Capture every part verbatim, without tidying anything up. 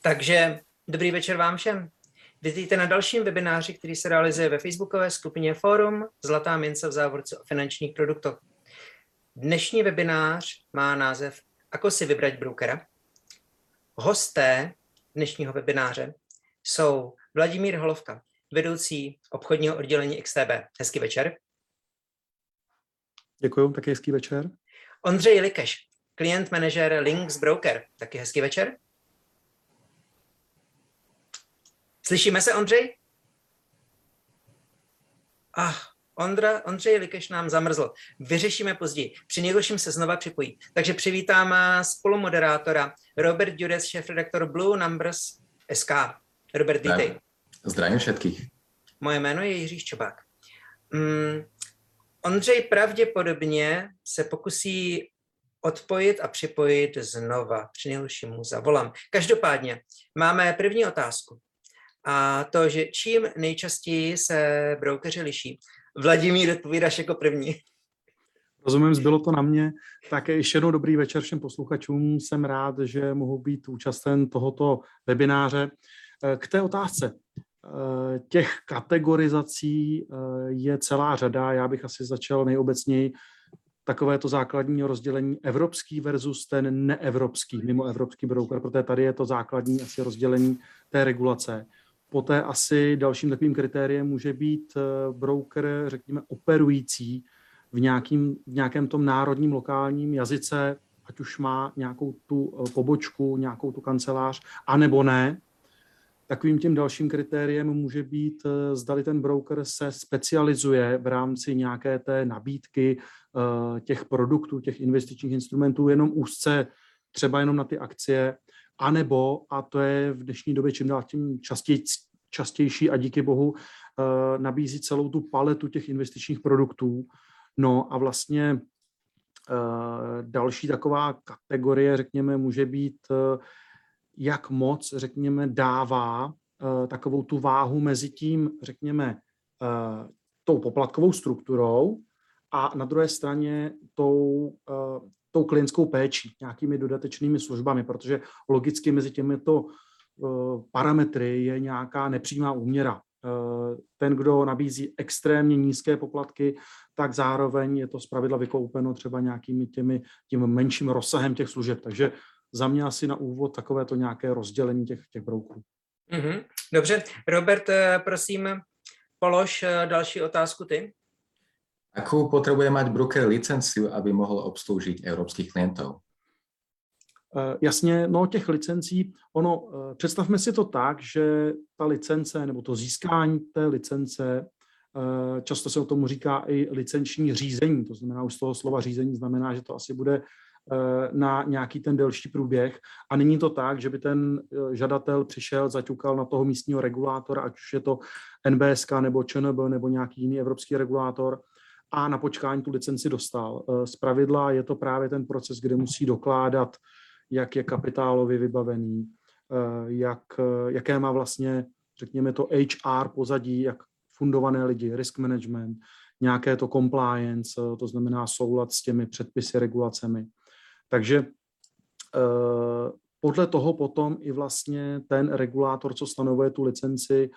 Takže dobrý večer vám všem. Vítejte na dalším webináři, který se realizuje ve facebookové skupině Fórum Zlatá mince v závorce o finančních produktech. Dnešní webinář má název Ako si vybrať brokera. Hosté dnešního webináře jsou Vladimír Holovka, vedoucí obchodního oddělení X T B. Hezký večer. Děkuju, taky hezký večer. Ondřej Likeš, klient manažer Links Broker. Taky hezký večer. Slyšíme se, Ondřej? Ah, Ondra, Ondřej Likeš nám zamrzl. Vyřešíme později. Při nejhorším se znova připojí. Takže přivítám spolumoderátora Robert Dures, šéfredaktor Blue Numbers tečka es ká. Robert, vítej. Zdravím všetkých. Moje jméno je Jiří Ščobák. Mm, Ondřej pravděpodobně se pokusí odpojit a připojit znova. Při nejhorším mu zavolám. Každopádně máme první otázku. A to, že čím nejčastěji se brokeři liší. Vladimír, odpovídáš jako první. Rozumím, zbylo to na mě. Tak ještě jednou dobrý večer všem posluchačům. Jsem rád, že mohu být účasten tohoto webináře. K té otázce. Těch kategorizací je celá řada. Já bych asi začal nejobecněji takové to základní rozdělení evropský versus ten neevropský, mimoevropský broker, protože tady je to základní asi rozdělení té regulace. Poté asi dalším takovým kritériem může být broker, řekněme, operující v, nějakým, v nějakém tom národním lokálním jazyce, ať už má nějakou tu pobočku, nějakou tu kancelář, anebo ne. Takovým tím dalším kritériem může být, zdali ten broker se specializuje v rámci nějaké té nabídky těch produktů, těch investičních instrumentů jenom úzce, třeba jenom na ty akcie, anebo, a to je v dnešní době čím dál tím častěj, častější a díky bohu, nabízí celou tu paletu těch investičních produktů. No a vlastně další taková kategorie, řekněme, může být, jak moc, řekněme, dává takovou tu váhu mezi tím, řekněme, tou poplatkovou strukturou a na druhé straně tou, tou klientskou péčí, nějakými dodatečnými službami, protože logicky mezi těmito parametry je nějaká nepřímá úměra. Ten, kdo nabízí extrémně nízké poplatky, tak zároveň je to zpravidla vykoupeno třeba nějakými těmi, tím menším rozsahem těch služeb. Takže za mě asi na úvod takovéto nějaké rozdělení těch, těch brokerů. Mm-hmm. Dobře. Robert, prosím, polož další otázku ty. Akú potrebuje mať broker licenciu, aby mohl obsloužit evropských klientů? Jasně, no těch licencí, ono, představme si to tak, že ta licence nebo to získání té licence, často se o tomu říká i licenční řízení, to znamená už z toho slova řízení znamená, že to asi bude na nějaký ten delší průběh a není to tak, že by ten žadatel přišel, zaťukal na toho místního regulátora, ať už je to N B S K nebo Č N B nebo nějaký jiný evropský regulátor a na počkání tu licenci dostal. Zpravidla je to právě ten proces, kde musí dokládat, jak je kapitálově vybavený, jak, jaké má vlastně, řekněme to H R pozadí, jak fundované lidi, risk management, nějaké to compliance, to znamená soulad s těmi předpisy, regulacemi. Takže podle toho potom i vlastně ten regulátor, co stanovuje tu licenci,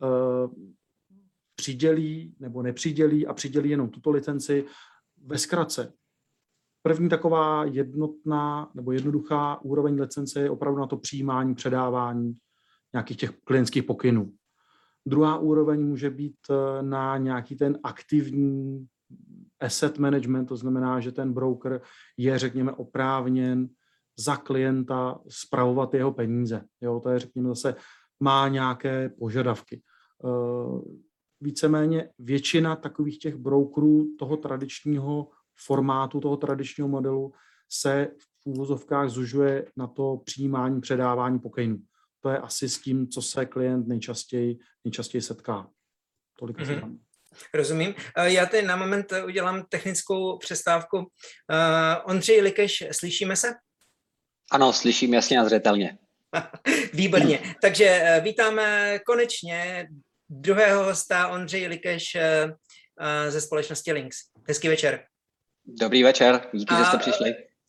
přidělí nebo nepřidělí a přidělí jenom tuto licenci. Ve zkratce, první taková jednotná nebo jednoduchá úroveň licence je opravdu na to přijímání, předávání nějakých těch klientských pokynů. Druhá úroveň může být na nějaký ten aktivní asset management, to znamená, že ten broker je, řekněme, oprávněn za klienta spravovat jeho peníze. Jo, to je, řekněme, zase má nějaké požadavky. Víceméně většina takových těch brokerů toho tradičního formátu, toho tradičního modelu se v úvozovkách zužuje na to přijímání, předávání pokynů. To je asi s tím, co se klient nejčastěji, nejčastěji setká. Tolik asi tam. Rozumím. Já teď na moment udělám technickou přestávku. Ondřej Likeš, slyšíme se? Ano, slyším jasně a zřetelně. Výborně. Takže vítáme konečně druhého hosta, Ondřej Likeš ze společnosti Links. Hezký večer. Dobrý večer, díky, a že jste přišli.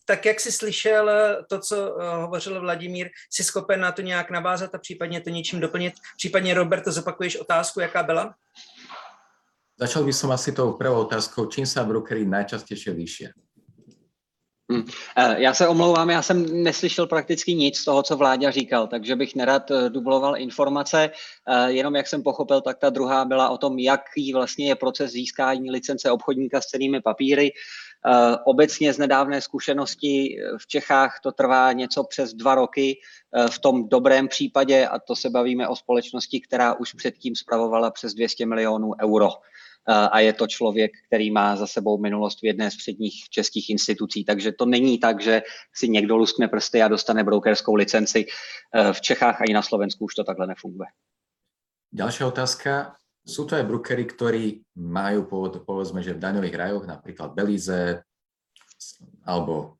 tak jak jsi slyšel to, co hovořil Vladimír, jsi schopen na to nějak navázat a případně to něčím doplnit? Případně, Roberto, zopakuješ otázku, jaká byla? Začal by som asi tou prvou otázkou, čím sa brokery najčastejšie líšia? Hmm. Já se omlouvám, já jsem neslyšel prakticky nic z toho, co Vláďa říkal, takže bych nerad dubloval informace. Jenom jak jsem pochopil, tak ta druhá byla o tom, jaký vlastně je proces získání licence obchodníka s cennými papíry. Obecně z nedávné zkušenosti v Čechách to trvá něco přes dva roky v tom dobrém případě, a to se bavíme o společnosti, která už předtím spravovala přes dvě stě milionů euro. A je to člověk, který má za sebou minulost v jedné z předních českých institucí. Takže to není tak, že si někdo luskne prsty a dostane brokerskou licenci. V Čechách a i na Slovensku už to takhle nefunguje. Ďalšia otázka. Sú to aj brokery, ktorí majú pôvod, povedzme, že v daňových rajoch, napríklad Belize, alebo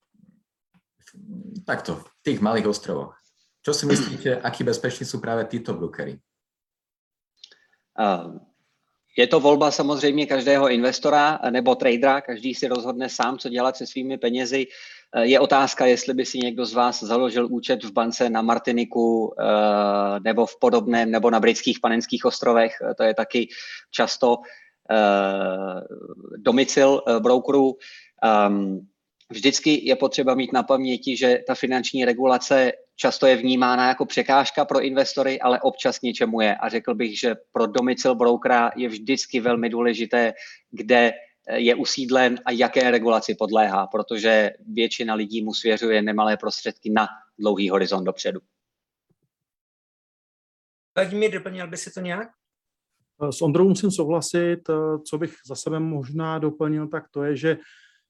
takto, v tých malých ostrovoch. Čo si myslíte, akí bezpeční sú práve títo brokery? Uh, Je to volba samozřejmě každého investora nebo tradera, každý si rozhodne sám, co dělat se svými penězi. Je otázka, jestli by si někdo z vás založil účet v bance na Martiniku nebo v podobném, nebo na britských Panenských ostrovech. To je taky často domicil brokerů. Vždycky je potřeba mít na paměti, že ta finanční regulace často je vnímána jako překážka pro investory, ale občas něčemu je. A řekl bych, že pro domicil brokera je vždycky velmi důležité, kde je usídlen a jaké regulaci podléhá, protože většina lidí mu svěřuje nemalé prostředky na dlouhý horizont dopředu. Vladimír, doplnil by si to nějak? S Ondrou musím souhlasit. Co bych za sebe možná doplnil, tak to je, že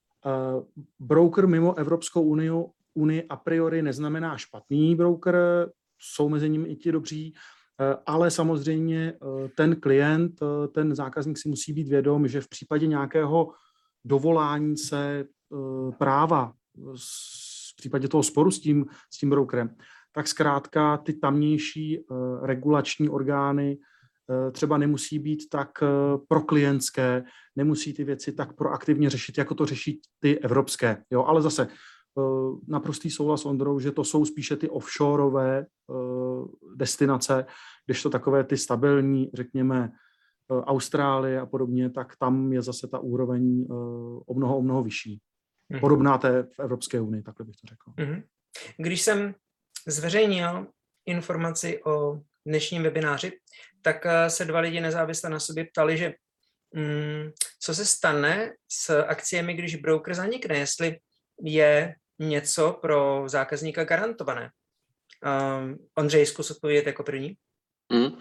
broker mimo Evropskou unii, unii a priori neznamená špatný broker, jsou mezi nimi i ti dobří, ale samozřejmě ten klient, ten zákazník si musí být vědom, že v případě nějakého dovolání se práva, v případě toho sporu s tím, s tím brokerem, tak zkrátka ty tamnější regulační orgány třeba nemusí být tak proklientské, nemusí ty věci tak proaktivně řešit, jako to řeší ty evropské. Jo, ale zase naprostý souhlas s Ondrou, že to jsou spíše ty offshoreové destinace, kdežto takové ty stabilní, řekněme, Austrálie a podobně, tak tam je zase ta úroveň o mnoho, o mnoho vyšší. Podobná té v Evropské unii, takhle bych to řekl. Když jsem zveřejnil informaci o dnešním webináři, tak se dva lidi nezávisle na sobě ptali, že mm, co se stane s akciemi, když broker zanikne, jestli je něco pro zákazníka garantované. Um, Ondřej, zkus odpovědět jako první. Hmm.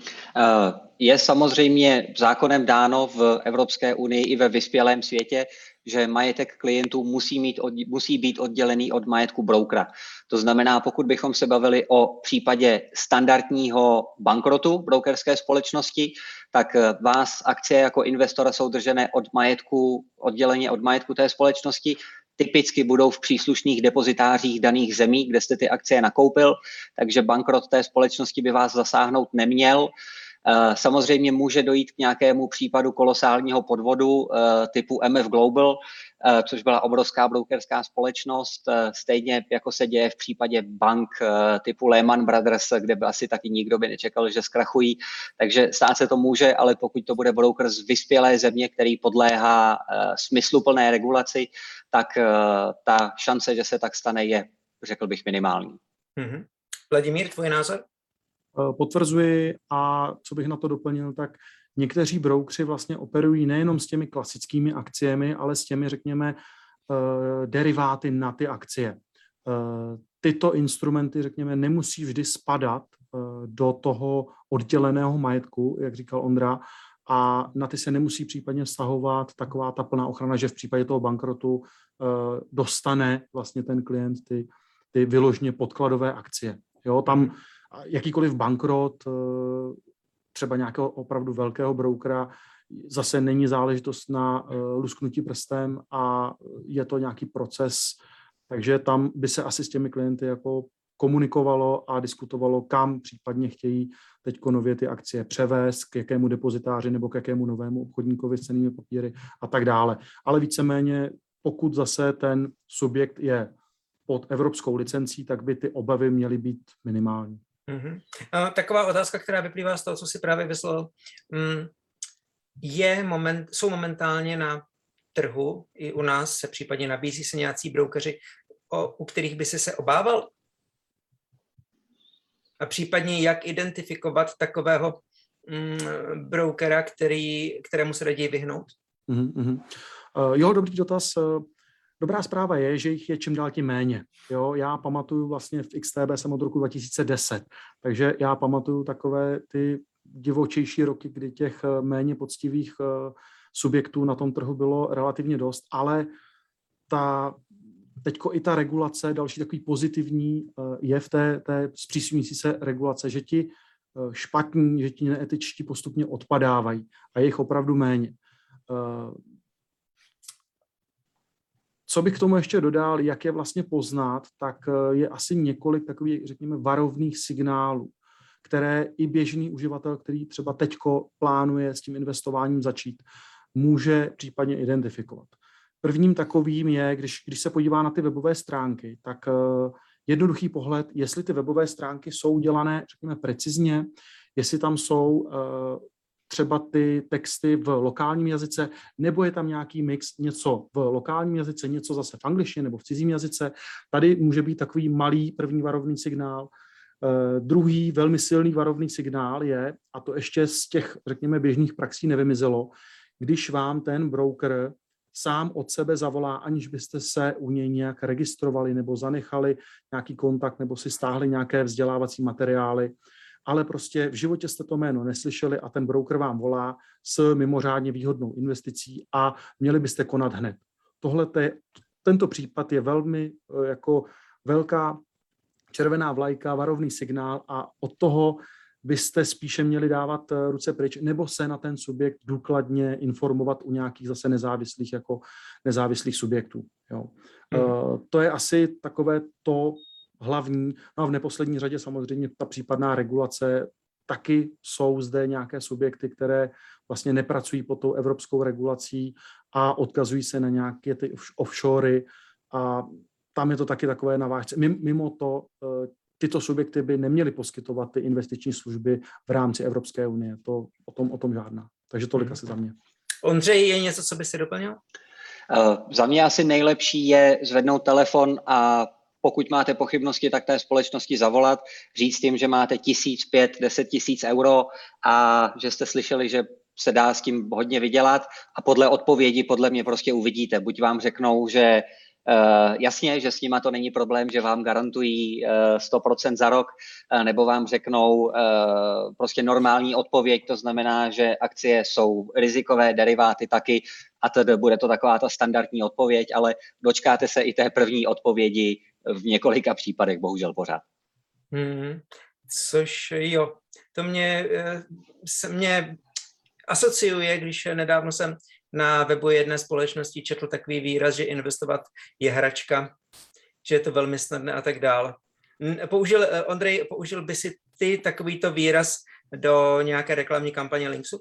Je samozřejmě zákonem dáno v Evropské unii i ve vyspělém světě, že majetek klientů musí, mít, musí být oddělený od majetku brokera. To znamená, pokud bychom se bavili o případě standardního bankrotu brokerské společnosti, tak vás akcie jako investora jsou držené od majetku, odděleně od majetku té společnosti, typicky budou v příslušných depozitářích daných zemí, kde jste ty akcie nakoupil, takže bankrot té společnosti by vás zasáhnout neměl. Samozřejmě může dojít k nějakému případu kolosálního podvodu typu M F Global, což byla obrovská brokerská společnost, stejně jako se děje v případě bank typu Lehman Brothers, kde by asi taky nikdo by nečekal, že zkrachují. Takže stát se to může, ale pokud to bude broker z vyspělé země, který podléhá smysluplné regulaci, tak ta šance, že se tak stane, je, řekl bych, minimální. Mm-hmm. Vladimír, tvůj názor? Potvrzuji, a co bych na to doplnil, tak někteří broukři vlastně operují nejenom s těmi klasickými akciemi, ale s těmi, řekněme, deriváty na ty akcie. Tyto instrumenty, řekněme, nemusí vždy spadat do toho odděleného majetku, jak říkal Ondra, a na ty se nemusí případně vztahovat taková ta plná ochrana, že v případě toho bankrotu dostane vlastně ten klient ty, ty vyloženě podkladové akcie. Jo, tam jakýkoliv bankrot třeba nějakého opravdu velkého brokera zase není záležitost na lusknutí prstem a je to nějaký proces, takže tam by se asi s těmi klienty jako komunikovalo a diskutovalo, kam případně chtějí teď nově ty akcie převést, k jakému depozitáři nebo k jakému novému obchodníkovi s cennými papíry a tak dále. Ale víceméně pokud zase ten subjekt je pod evropskou licencí, tak by ty obavy měly být minimální. Mm-hmm. Taková otázka, která vyplývá z toho, co si právě vyslal, je moment, jsou momentálně na trhu, i u nás se případně nabízí se nějací brokeři, o, u kterých by si se obával? A případně jak identifikovat takového mm, brokera, který, kterému se raději vyhnout? Mm-hmm. Uh, jo, dobrý dotaz. Dobrá zpráva je, že jich je čím dál tím méně. Jo, já pamatuju vlastně v X T B jsem od roku dva tisíce deset, takže já pamatuju takové ty divočejší roky, kdy těch méně poctivých subjektů na tom trhu bylo relativně dost, ale ta, teďko i ta regulace, další takový pozitivní je v té, té zpřísňující se regulace, že ti špatní, že ti neetičtí postupně odpadávají a je jich opravdu méně. Co bych k tomu ještě dodal, jak je vlastně poznat, tak je asi několik takových, řekněme, varovných signálů, které i běžný uživatel, který třeba teďko plánuje s tím investováním začít, může případně identifikovat. Prvním takovým je, když, když se podívá na ty webové stránky, tak uh, jednoduchý pohled, jestli ty webové stránky jsou dělané, řekněme, precizně, jestli tam jsou uh, třeba ty texty v lokálním jazyce, nebo je tam nějaký mix, něco v lokálním jazyce, něco zase v angličtině nebo v cizím jazyce. Tady může být takový malý první varovný signál. Uh, druhý velmi silný varovný signál je, a to ještě z těch, řekněme, běžných praxí nevymizelo, když vám ten broker sám od sebe zavolá, aniž byste se u něj nějak registrovali nebo zanechali nějaký kontakt nebo si stáhli nějaké vzdělávací materiály, ale prostě v životě jste to jméno neslyšeli a ten broker vám volá s mimořádně výhodnou investicí a měli byste konat hned. Tohle te, tento případ je velmi jako velká červená vlajka, varovný signál a od toho byste spíše měli dávat ruce pryč nebo se na ten subjekt důkladně informovat u nějakých zase nezávislých jako nezávislých subjektů. Jo. Hmm. Uh, to je asi takové to hlavní. No a v neposlední řadě samozřejmě ta případná regulace. Taky jsou zde nějaké subjekty, které vlastně nepracují pod tou evropskou regulací a odkazují se na nějaké ty offshory a tam je to taky takové na vážce. Mimo to, tyto subjekty by neměly poskytovat ty investiční služby v rámci Evropské unie. To o tom, o tom žádná. Takže tolik hmm. asi za mě. Ondřej, je něco, co by si doplnil? Uh, za mě asi nejlepší je zvednout telefon a pokud máte pochybnosti, tak té společnosti zavolat, říct jim, že máte tisíc, pět, deset tisíc euro a že jste slyšeli, že se dá s tím hodně vydělat a podle odpovědi podle mě prostě uvidíte. Buď vám řeknou, že Uh, jasně, že s nima to není problém, že vám garantují uh, sto procent za rok, uh, nebo vám řeknou uh, prostě normální odpověď, to znamená, že akcie jsou rizikové, deriváty taky a tedy bude to taková ta standardní odpověď, ale dočkáte se i té první odpovědi v několika případech, bohužel pořád. Hmm, což jo, to mě, se mě asociuje, když nedávno jsem na webu jedné společnosti četl takový výraz, že investovat je hračka, že je to velmi snadné a tak dále. Použil, Ondrej, použil by si ty takovýto výraz do nějaké reklamní kampaně Linksu?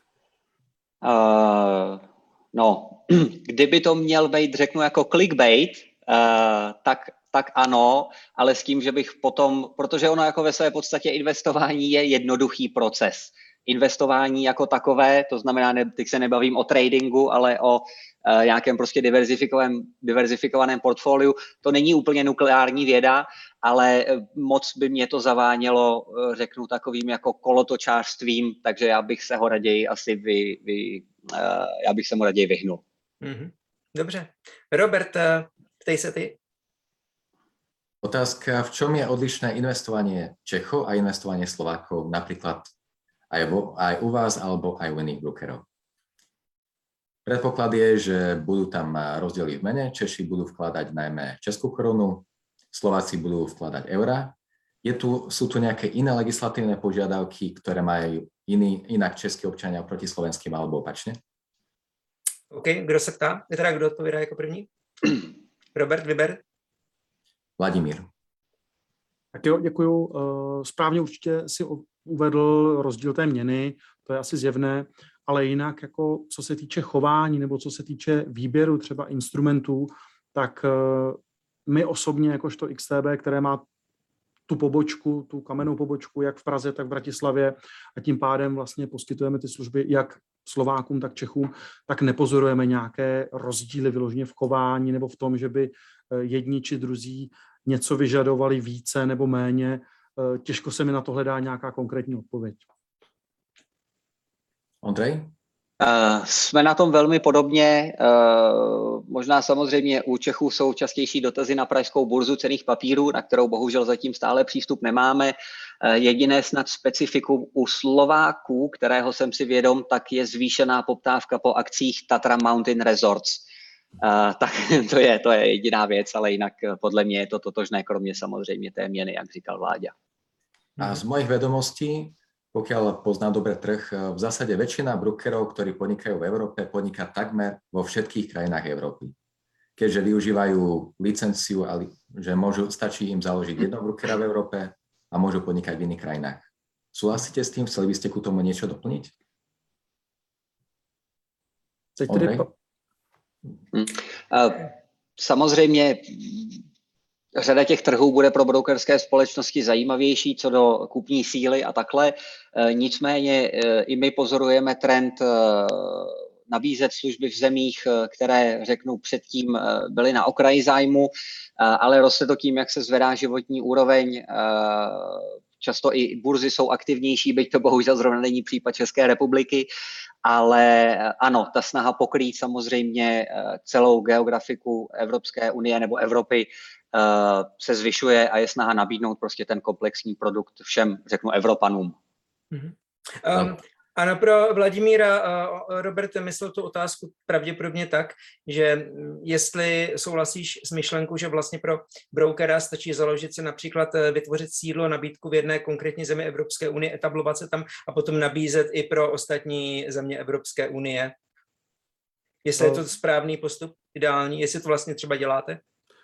Uh, no, kdyby to měl být, řeknu, jako clickbait, uh, tak, tak ano, ale s tím, že bych potom, protože ono jako ve své podstatě investování je jednoduchý proces. Investování jako takové, to znamená, ne, teď se nebavím o tradingu, ale o uh, nějakém prostě diverzifikovaném, diverzifikovaném portfoliu. To není úplně nukleární věda, ale moc by mě to zavánělo, řeknu, takovým jako kolotočářstvím, takže já bych se ho raději asi vy, vy, uh, já bych se mu raději vyhnul. Mm-hmm. Dobře. Robert, ptej se ty. Otázka, v čom je odlišné investovanie Čechov a investovanie Slovákov, napríklad aj, vo, aj u vás alebo aj u iných brokerov? Predpoklad je, že budú tam rozdiely v mene, Češi budú vkladať najmä českú korunu, Slováci budú vkladať eurá. Je tu, sú tu nejaké iné legislatívne požiadavky, ktoré majú iný, inak českí občania oproti slovenským alebo opačne? OK, kdo se ptá? Je teda kdo odpovídá jako první? Robert, vyber. Vladimír. Tak jo, děkuju. Správně určitě si uvedl rozdíl té měny, to je asi zjevné, ale jinak jako co se týče chování nebo co se týče výběru třeba instrumentů, tak my osobně jakožto X T B, které má tu pobočku, tu kamennou pobočku, jak v Praze, tak v Bratislavě a tím pádem vlastně poskytujeme ty služby jak Slovákům, tak Čechům, tak nepozorujeme nějaké rozdíly vyloženě v chování nebo v tom, že by jedni či druzí něco vyžadovali více nebo méně. Těžko se mi na to hledá nějaká konkrétní odpověď. Ondrej? Uh, jsme na tom velmi podobně. Uh, možná samozřejmě u Čechů jsou častější dotazy na pražskou burzu cenných papírů, na kterou bohužel zatím stále přístup nemáme. Uh, jediné snad specifikum u Slováků, kterého jsem si vědom, tak je zvýšená poptávka po akcích Tatra Mountain Resorts. Uh, tak to je, to je jediná věc, ale jinak podle mě je to totožné, kromě samozřejmě té měny, jak říkal Vláďa. A z mojich vedomostí, pokiaľ pozná dobre trh, v zásade väčšina brokerov, ktorí podnikajú v Európe, podniká takmer vo všetkých krajinách Európy. Keďže využívajú licenciu, že môžu, stačí im založiť jedno brokera v Európe a môžu podnikať v iných krajinách. Súhlasíte s tým? Chceli by ste ku tomu niečo doplniť? Ondrej? Hmm. Uh, samozřejmě řada těch trhů bude pro brokerské společnosti zajímavější co do kupní síly a takhle. Nicméně i my pozorujeme trend nabízet služby v zemích, které, řeknu, předtím byly na okraji zájmu, ale roste to tím, jak se zvedá životní úroveň. Často i burzy jsou aktivnější, byť to bohužel zrovna není případ České republiky, ale ano, ta snaha pokrýt samozřejmě celou geografiku Evropské unie nebo Evropy se zvyšuje a je snaha nabídnout prostě ten komplexní produkt všem, řeknu, Evropanům. Mm-hmm. Um, ano, pro Vladimíra uh, Robert myslel tu otázku pravděpodobně tak, že jestli souhlasíš s myšlenkou, že vlastně pro brokera stačí založit se například vytvořit sídlo, nabídku v jedné konkrétní zemi Evropské unie, etablovat se tam a potom nabízet i pro ostatní země Evropské unie. Jestli je to správný postup, ideální, jestli to vlastně třeba děláte?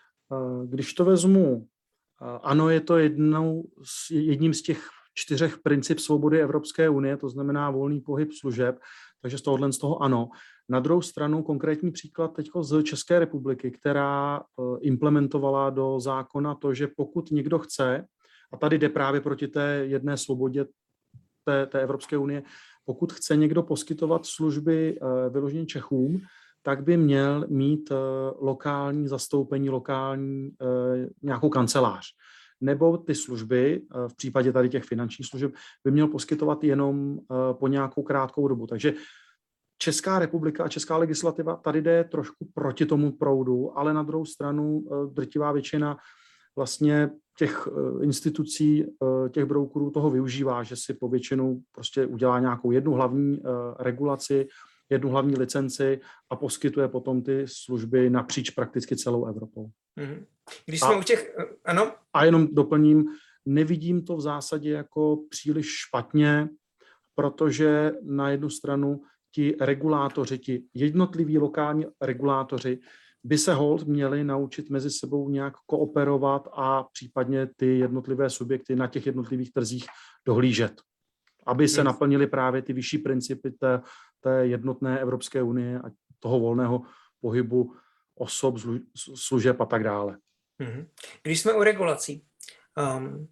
Když to vezmu, ano, je to jednou, jedním z těch čtyřech princip svobody Evropské unie, to znamená volný pohyb služeb, takže z tohohle z toho ano. Na druhou stranu konkrétní příklad teď z České republiky, která implementovala do zákona to, že pokud někdo chce, a tady jde právě proti té jedné svobodě té, té Evropské unie, pokud chce někdo poskytovat služby vyloženě Čechům, tak by měl mít lokální zastoupení, lokální nějakou kancelář. Nebo ty služby, v případě tady těch finančních služeb, by měl poskytovat jenom po nějakou krátkou dobu. Takže Česká republika a česká legislativa tady jde trošku proti tomu proudu, ale na druhou stranu drtivá většina vlastně těch institucí, těch brokerů toho využívá, že si po většinu prostě udělá nějakou jednu hlavní regulaci, jednu hlavní licenci a poskytuje potom ty služby napříč prakticky celou Evropou. Mm-hmm. Když jsme a, u těch, ano? A jenom doplním, nevidím to v zásadě jako příliš špatně, protože na jednu stranu ti regulátoři, ti jednotliví lokální regulátoři by se holt měli naučit mezi sebou nějak kooperovat a případně ty jednotlivé subjekty na těch jednotlivých trzích dohlížet, aby se yes. naplnily právě ty vyšší principy té, té jednotné Evropské unie a toho volného pohybu osob, služeb a tak dále. Když jsme u regulací, um,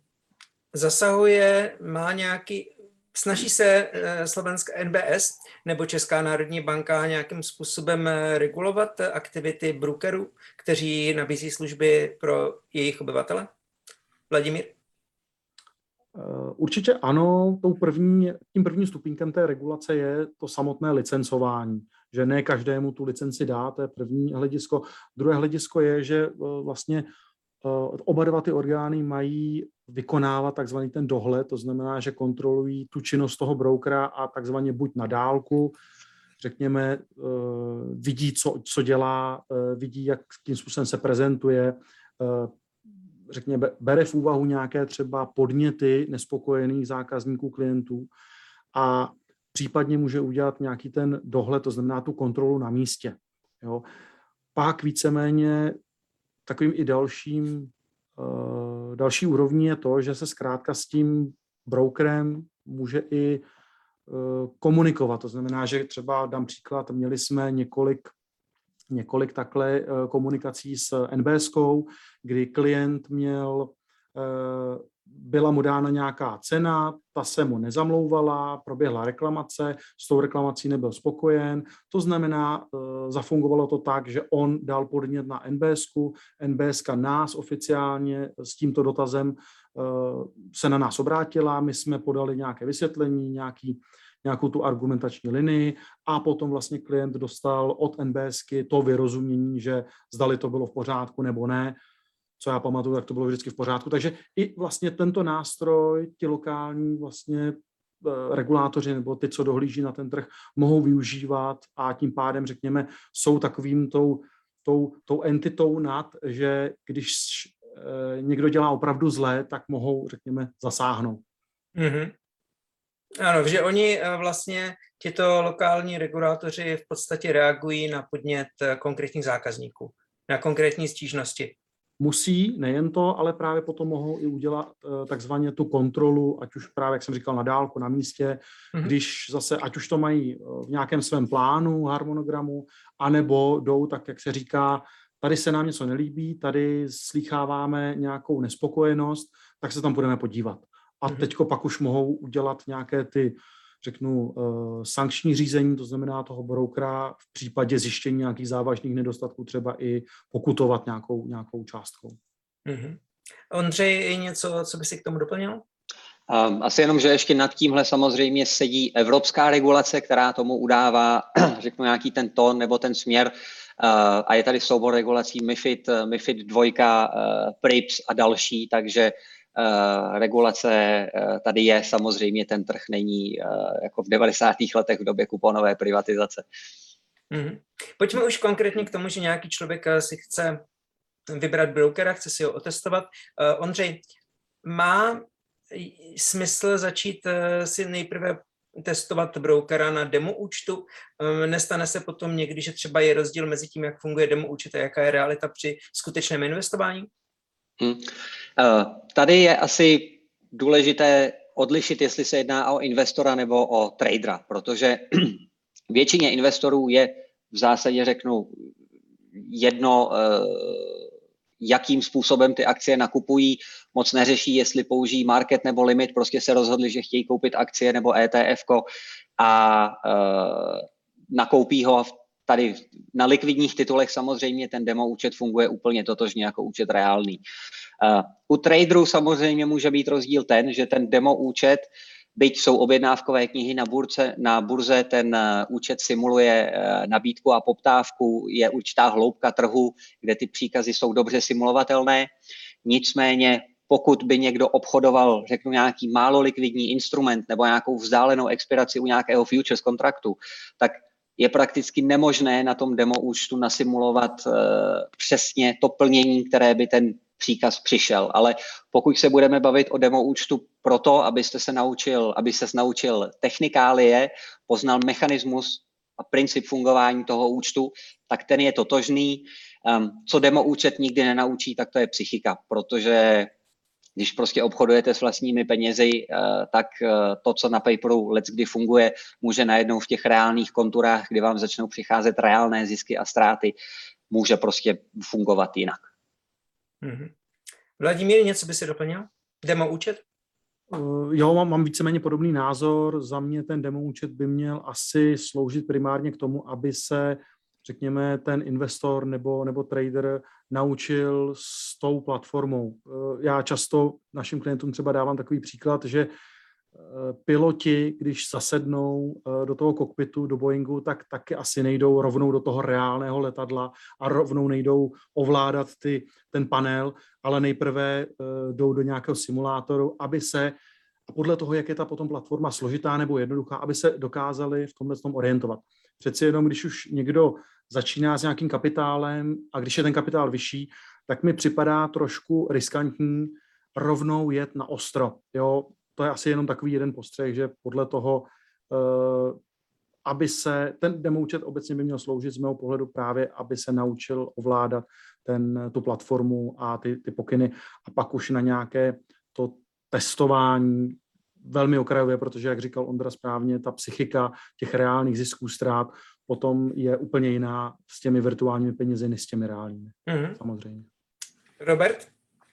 zasahuje, má nějaký, snaží se uh, slovenská N B S nebo Česká národní banka nějakým způsobem regulovat aktivity brokerů, kteří nabízí služby pro jejich obyvatele? Vladimír? Určitě ano, tou první, tím prvním stupínkem té regulace je to samotné licencování, že ne každému tu licenci dá, to je první hledisko. Druhé hledisko je, že vlastně oba dva ty orgány mají vykonávat takzvaný ten dohled, to znamená, že kontrolují tu činnost toho brokera a takzvaně buď na dálku, řekněme, vidí, co, co dělá, vidí, jakým způsobem se prezentuje, řekněme, bere v úvahu nějaké třeba podněty nespokojených zákazníků, klientů a případně může udělat nějaký ten dohled, to znamená tu kontrolu na místě. Jo. Pak víceméně takovým i dalším, uh, další úrovní je to, že se zkrátka s tím brokerem může i komunikovat. To znamená, že třeba dám příklad, měli jsme několik, několik takhle komunikací s NBSkou, kdy klient měl, byla mu dána nějaká cena, ta se mu nezamlouvala, proběhla reklamace, s tou reklamací nebyl spokojen. To znamená, zafungovalo to tak, že on dal podnět na NBSku, NBSka nás oficiálně s tímto dotazem se na nás obrátila, my jsme podali nějaké vysvětlení, nějaký, nějakou tu argumentační linii a potom vlastně klient dostal od NBSky to vyrozumění, že zdali to bylo v pořádku nebo ne. Co já pamatuju, tak to bylo vždycky v pořádku. Takže i vlastně tento nástroj, ti lokální vlastně regulátoři nebo ty, co dohlíží na ten trh, mohou využívat a tím pádem, řekněme, jsou takovým tou, tou, tou entitou nad, že když někdo dělá opravdu zlé, tak mohou, řekněme, zasáhnout. Mm-hmm. Ano, že oni vlastně, tito lokální regulátoři v podstatě reagují na podnět konkrétních zákazníků, na konkrétní stížnosti. Musí, nejen to, ale právě potom mohou i udělat takzvaně tu kontrolu, ať už právě, jak jsem říkal, na dálku, na místě, mm-hmm. když zase, ať už to mají v nějakém svém plánu, harmonogramu, anebo jdou, tak jak se říká, tady se nám něco nelíbí, tady slýcháváme nějakou nespokojenost, tak se tam budeme podívat. A mm-hmm. teďko pak už mohou udělat nějaké ty, řeknu, uh, sankční řízení, to znamená toho brokera v případě zjištění nějakých závažných nedostatků třeba i pokutovat nějakou, nějakou částkou. Mm-hmm. Ondřej, je něco, co by si k tomu doplnil? Um, asi jenom, že ještě nad tímhle samozřejmě sedí evropská regulace, která tomu udává, řeknu, nějaký ten tón nebo ten směr. Uh, a je tady soubor regulací MiFID, MiFID dva, uh, PRIPS a další, takže Uh, regulace uh, tady je, samozřejmě ten trh není uh, jako v devadesátých letech v době kuponové privatizace. Mm-hmm. Pojďme už konkrétně k tomu, že nějaký člověk si chce vybrat brokera, chce si ho otestovat. Uh, Ondřej, má smysl začít uh, si nejprve testovat brokera na demo účtu? Um, nestane se potom někdy, že třeba je rozdíl mezi tím, jak funguje demo účet a jaká je realita při skutečném investování? Hmm. Uh, tady je asi důležité odlišit, jestli se jedná o investora nebo o tradera, protože většině investorů je v zásadě, řeknu, jedno, uh, jakým způsobem ty akcie nakupují, moc neřeší, jestli použijí market nebo limit, prostě se rozhodli, že chtějí koupit akcie nebo E T F ko a uh, nakoupí ho. Tady na likvidních titulech samozřejmě ten demo účet funguje úplně totožně jako účet reálný. Uh, u traderů samozřejmě může být rozdíl ten, že ten demo účet, byť jsou objednávkové knihy na burze, na burze ten uh, účet simuluje uh, nabídku a poptávku, je určitá hloubka trhu, kde ty příkazy jsou dobře simulovatelné. Nicméně pokud by někdo obchodoval, řeknu, nějaký málo likvidní instrument nebo nějakou vzdálenou expiraci u nějakého futures kontraktu, tak je prakticky nemožné na tom demo účtu nasimulovat uh, přesně to plnění, které by ten příkaz přišel. Ale pokud se budeme bavit o demo účtu proto, abyste se naučil, aby ses naučil technikálie, poznal mechanismus a princip fungování toho účtu, tak ten je totožný. Um, co demo účet nikdy nenaučí, tak to je psychika, protože když prostě obchodujete s vlastními penězi, tak to, co na paperu leckdy funguje, může najednou v těch reálných konturách, kdy vám začnou přicházet reálné zisky a ztráty, může prostě fungovat jinak. Mm-hmm. Vladimír, něco by si doplnil? Demo účet? Uh, jo, mám, mám víceméně podobný názor. Za mě ten demo účet by měl asi sloužit primárně k tomu, aby se, řekněme, ten investor nebo, nebo trader naučil s tou platformou. Já často našim klientům třeba dávám takový příklad, že piloti, když zasednou do toho kokpitu, do Boeingu, tak taky asi nejdou rovnou do toho reálného letadla a rovnou nejdou ovládat ty, ten panel, ale nejprve jdou do nějakého simulátoru, aby se, a podle toho, jak je ta potom platforma složitá nebo jednoduchá, aby se dokázali v tomhle tom orientovat. Přeci jenom, když už někdo začíná s nějakým kapitálem a když je ten kapitál vyšší, tak mi připadá trošku riskantní rovnou jet na ostro. Jo? To je asi jenom takový jeden postřeh, že podle toho, uh, aby se, ten demo účet obecně by měl sloužit z mého pohledu právě, aby se naučil ovládat ten, tu platformu a ty, ty pokyny a pak už na nějaké to testování velmi okrajově, protože, jak říkal Ondra správně, ta psychika těch reálných zisků, ztrát potom je úplně jiná s těmi virtuálními penězi, než s těmi reálními. Mm-hmm. Samozřejmě. Robert?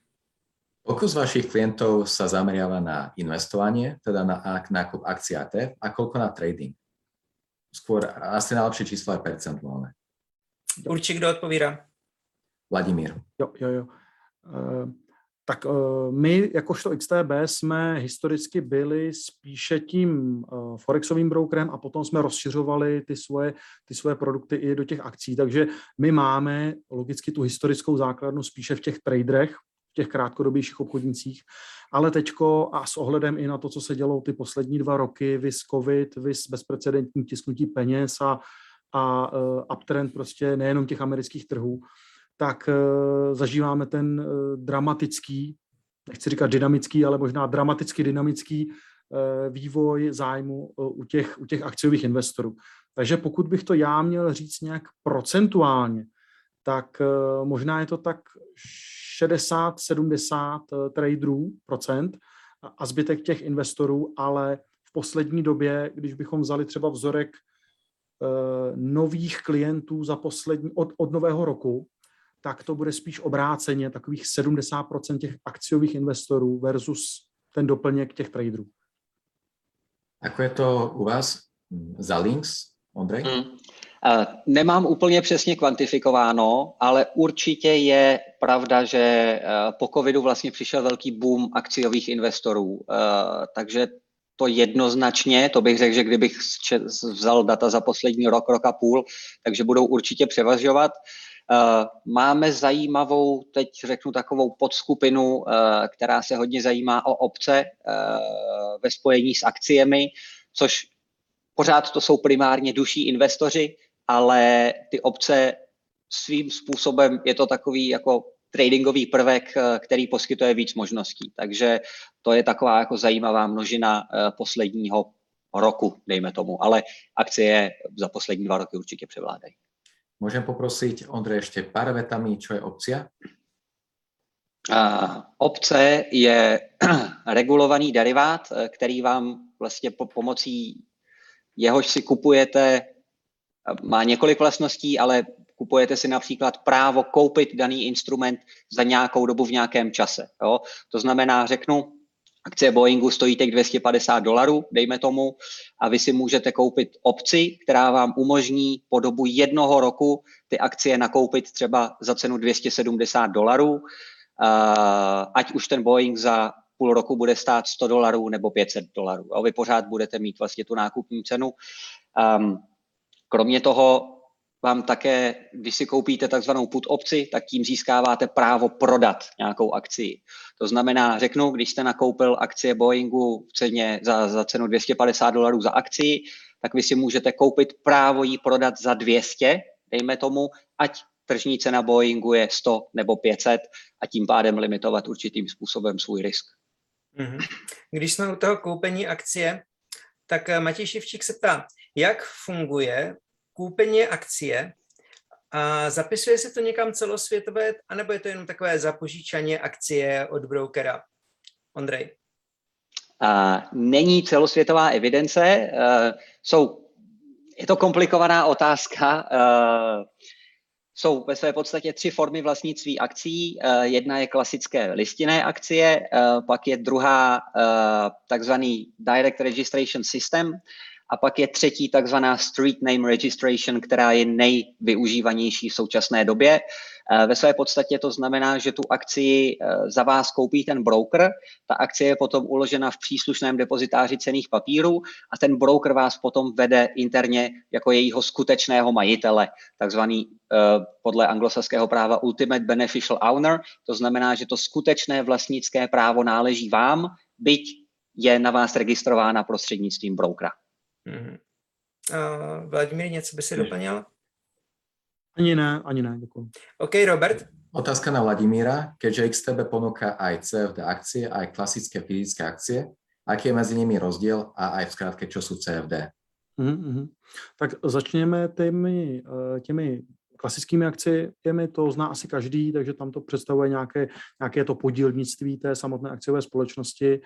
Koľko z vašich klientov sa zameriava na investovanie, teda na nákup akcií á té ef, a koľko na trading? Skôr asi najlepšie číslo je percentuálne. Určitě, kdo odpovídá? Vladimír. Jo, jo, jo. Uh, tak uh, my, jakožto X T B, jsme historicky byli spíše tím uh, forexovým brokerem a potom jsme rozšiřovali ty svoje, ty svoje produkty i do těch akcí. Takže my máme logicky tu historickou základnu spíše v těch traderech, v těch krátkodobějších obchodnicích, ale teďko a s ohledem i na to, co se dělo ty poslední dva roky, vis covid, vis bezprecedentní tisknutí peněz a, a uh, uptrend prostě nejenom těch amerických trhů, tak uh, zažíváme ten uh, dramatický, nechci říkat dynamický, ale možná dramaticky dynamický uh, vývoj zájmu uh, u, těch, u těch akciových investorů. Takže pokud bych to já měl říct nějak procentuálně, tak uh, možná je to tak šedesát sedmdesát uh, traderů procent a zbytek těch investorů, ale v poslední době, když bychom vzali třeba vzorek uh, nových klientů za poslední, od, od nového roku, tak to bude spíš obráceně takových sedmdesát procent těch akciových investorů versus ten doplněk těch traderů. Ako je to u vás za Lynx, Ondrej? Hmm. Uh, nemám úplně přesně kvantifikováno, ale určitě je pravda, že uh, po covidu vlastně přišel velký boom akciových investorů. Uh, takže to jednoznačně, to bych řekl, že kdybych vzal data za poslední rok, rok a půl, takže budou určitě převažovat. Uh, máme zajímavou, teď řeknu takovou podskupinu, uh, která se hodně zajímá o opce uh, ve spojení s akciemi, což pořád to jsou primárně duší investoři, ale ty opce svým způsobem je to takový jako tradingový prvek, který poskytuje víc možností. Takže to je taková jako zajímavá množina uh, posledního roku, dejme tomu, ale akcie za poslední dva roky určitě převládají. Môžem poprosiť, Ondrej, ešte pár vetami, čo je opcia? Uh, opce je regulovaný derivát, který vám vlastně po pomocí jehož si kupujete, má několik vlastností, ale kupujete si například právo koupit daný instrument za nějakou dobu v nějakém čase. Jo? To znamená, řeknu, akcie Boeingu stojí teď dvě stě padesát dolarů, dejme tomu, a vy si můžete koupit opci, která vám umožní po dobu jednoho roku ty akcie nakoupit třeba za cenu dvě stě sedmdesát dolarů, ať už ten Boeing za půl roku bude stát sto dolarů nebo pět set dolarů. A vy pořád budete mít vlastně tu nákupní cenu. Kromě toho vám také, když si koupíte takzvanou put opci, tak tím získáváte právo prodat nějakou akcii. To znamená, řeknu, když jste nakoupil akcie Boeingu v ceně za, za cenu dvě stě padesát dolarů za akcii, tak vy si můžete koupit právo ji prodat za dvě stě, dejme tomu, ať tržní cena Boeingu je sto nebo pět set a tím pádem limitovat určitým způsobem svůj risk. Mm-hmm. Když jsme u toho koupení akcie, tak Matěj Ševčík se ptá, jak funguje koupení akcie a zapisuje se to někam celosvětové, anebo je to jenom takové zapožičaně akcie od brokera? Ondrej. Uh, není celosvětová evidence. Uh, jsou, je to komplikovaná otázka. Uh, jsou ve své podstatě tři formy vlastnictví akcií. Uh, jedna je klasické listinné akcie, uh, pak je druhá uh, takzvaný Direct Registration System, a pak je třetí takzvaná Street Name Registration, která je nejvyužívanější v současné době. Ve své podstatě to znamená, že tu akcii za vás koupí ten broker, ta akcie je potom uložena v příslušném depozitáři cenných papírů a ten broker vás potom vede interně jako jejího skutečného majitele, takzvaný podle anglosaského práva Ultimate Beneficial Owner. To znamená, že to skutečné vlastnické právo náleží vám, byť je na vás registrována prostřednictvím brokera. Mm-hmm. Uh, Vladimír, něco by si doplnil? Ani ne, ani ne, děkuji. OK, Robert? Otázka na Vladimíra. Keďže X T B ponúka aj C F D akcie, aj klasické fyzické akcie, aký je mezi nimi rozdiel a aj v skratke, čo sú C F D? Mm-hmm. Tak začněme těmi, těmi klasickými akciemi, to zná asi každý, takže tam to představuje nějaké, nějaké to podílnictví té samotné akciové společnosti.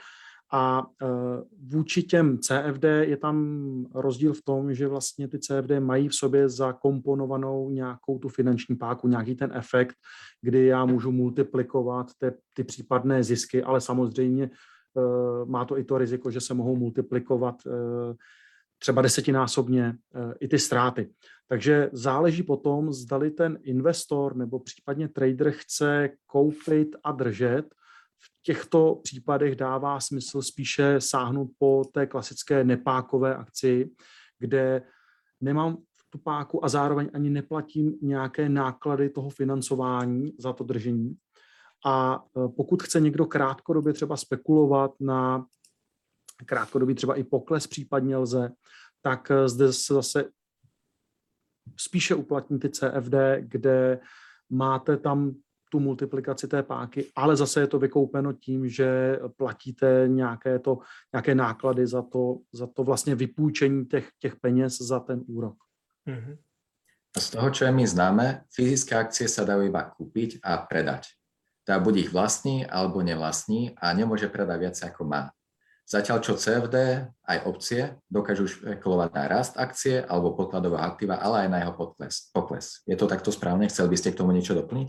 A vůči těm C F D je tam rozdíl v tom, že vlastně ty C F D mají v sobě zakomponovanou nějakou tu finanční páku, nějaký ten efekt, kdy já můžu multiplikovat ty, ty případné zisky, ale samozřejmě má to i to riziko, že se mohou multiplikovat třeba desetinásobně i ty ztráty. Takže záleží potom, zdali ten investor nebo případně trader chce koupit a držet. V těchto případech dává smysl spíše sáhnout po té klasické nepákové akci, kde nemám tu páku a zároveň ani neplatím nějaké náklady toho financování za to držení. A pokud chce někdo krátkodobě třeba spekulovat na krátkodobý třeba i pokles případně lze, tak zde se zase spíše uplatní ty C F D, kde máte tam tu multiplikaci té páky, ale zase je to vykoupeno tím, že platíte nějaké, to, nějaké náklady za to, za to vlastně vypůjčení těch, těch peněz za ten úrok. Mm-hmm. Z toho, čo je mi známe, fyzické akcie sa dajú iba kúpiť a predať. Teda buď ich vlastní, alebo nevlastní a nemôže predať viac ako má. Zatiaľ čo C F D, aj opcie, dokážu špekulovať na rast akcie alebo podkladového aktíva, ale aj na jeho pokles. pokles. Je to takto správne? Chcel by ste k tomu niečo doplniť?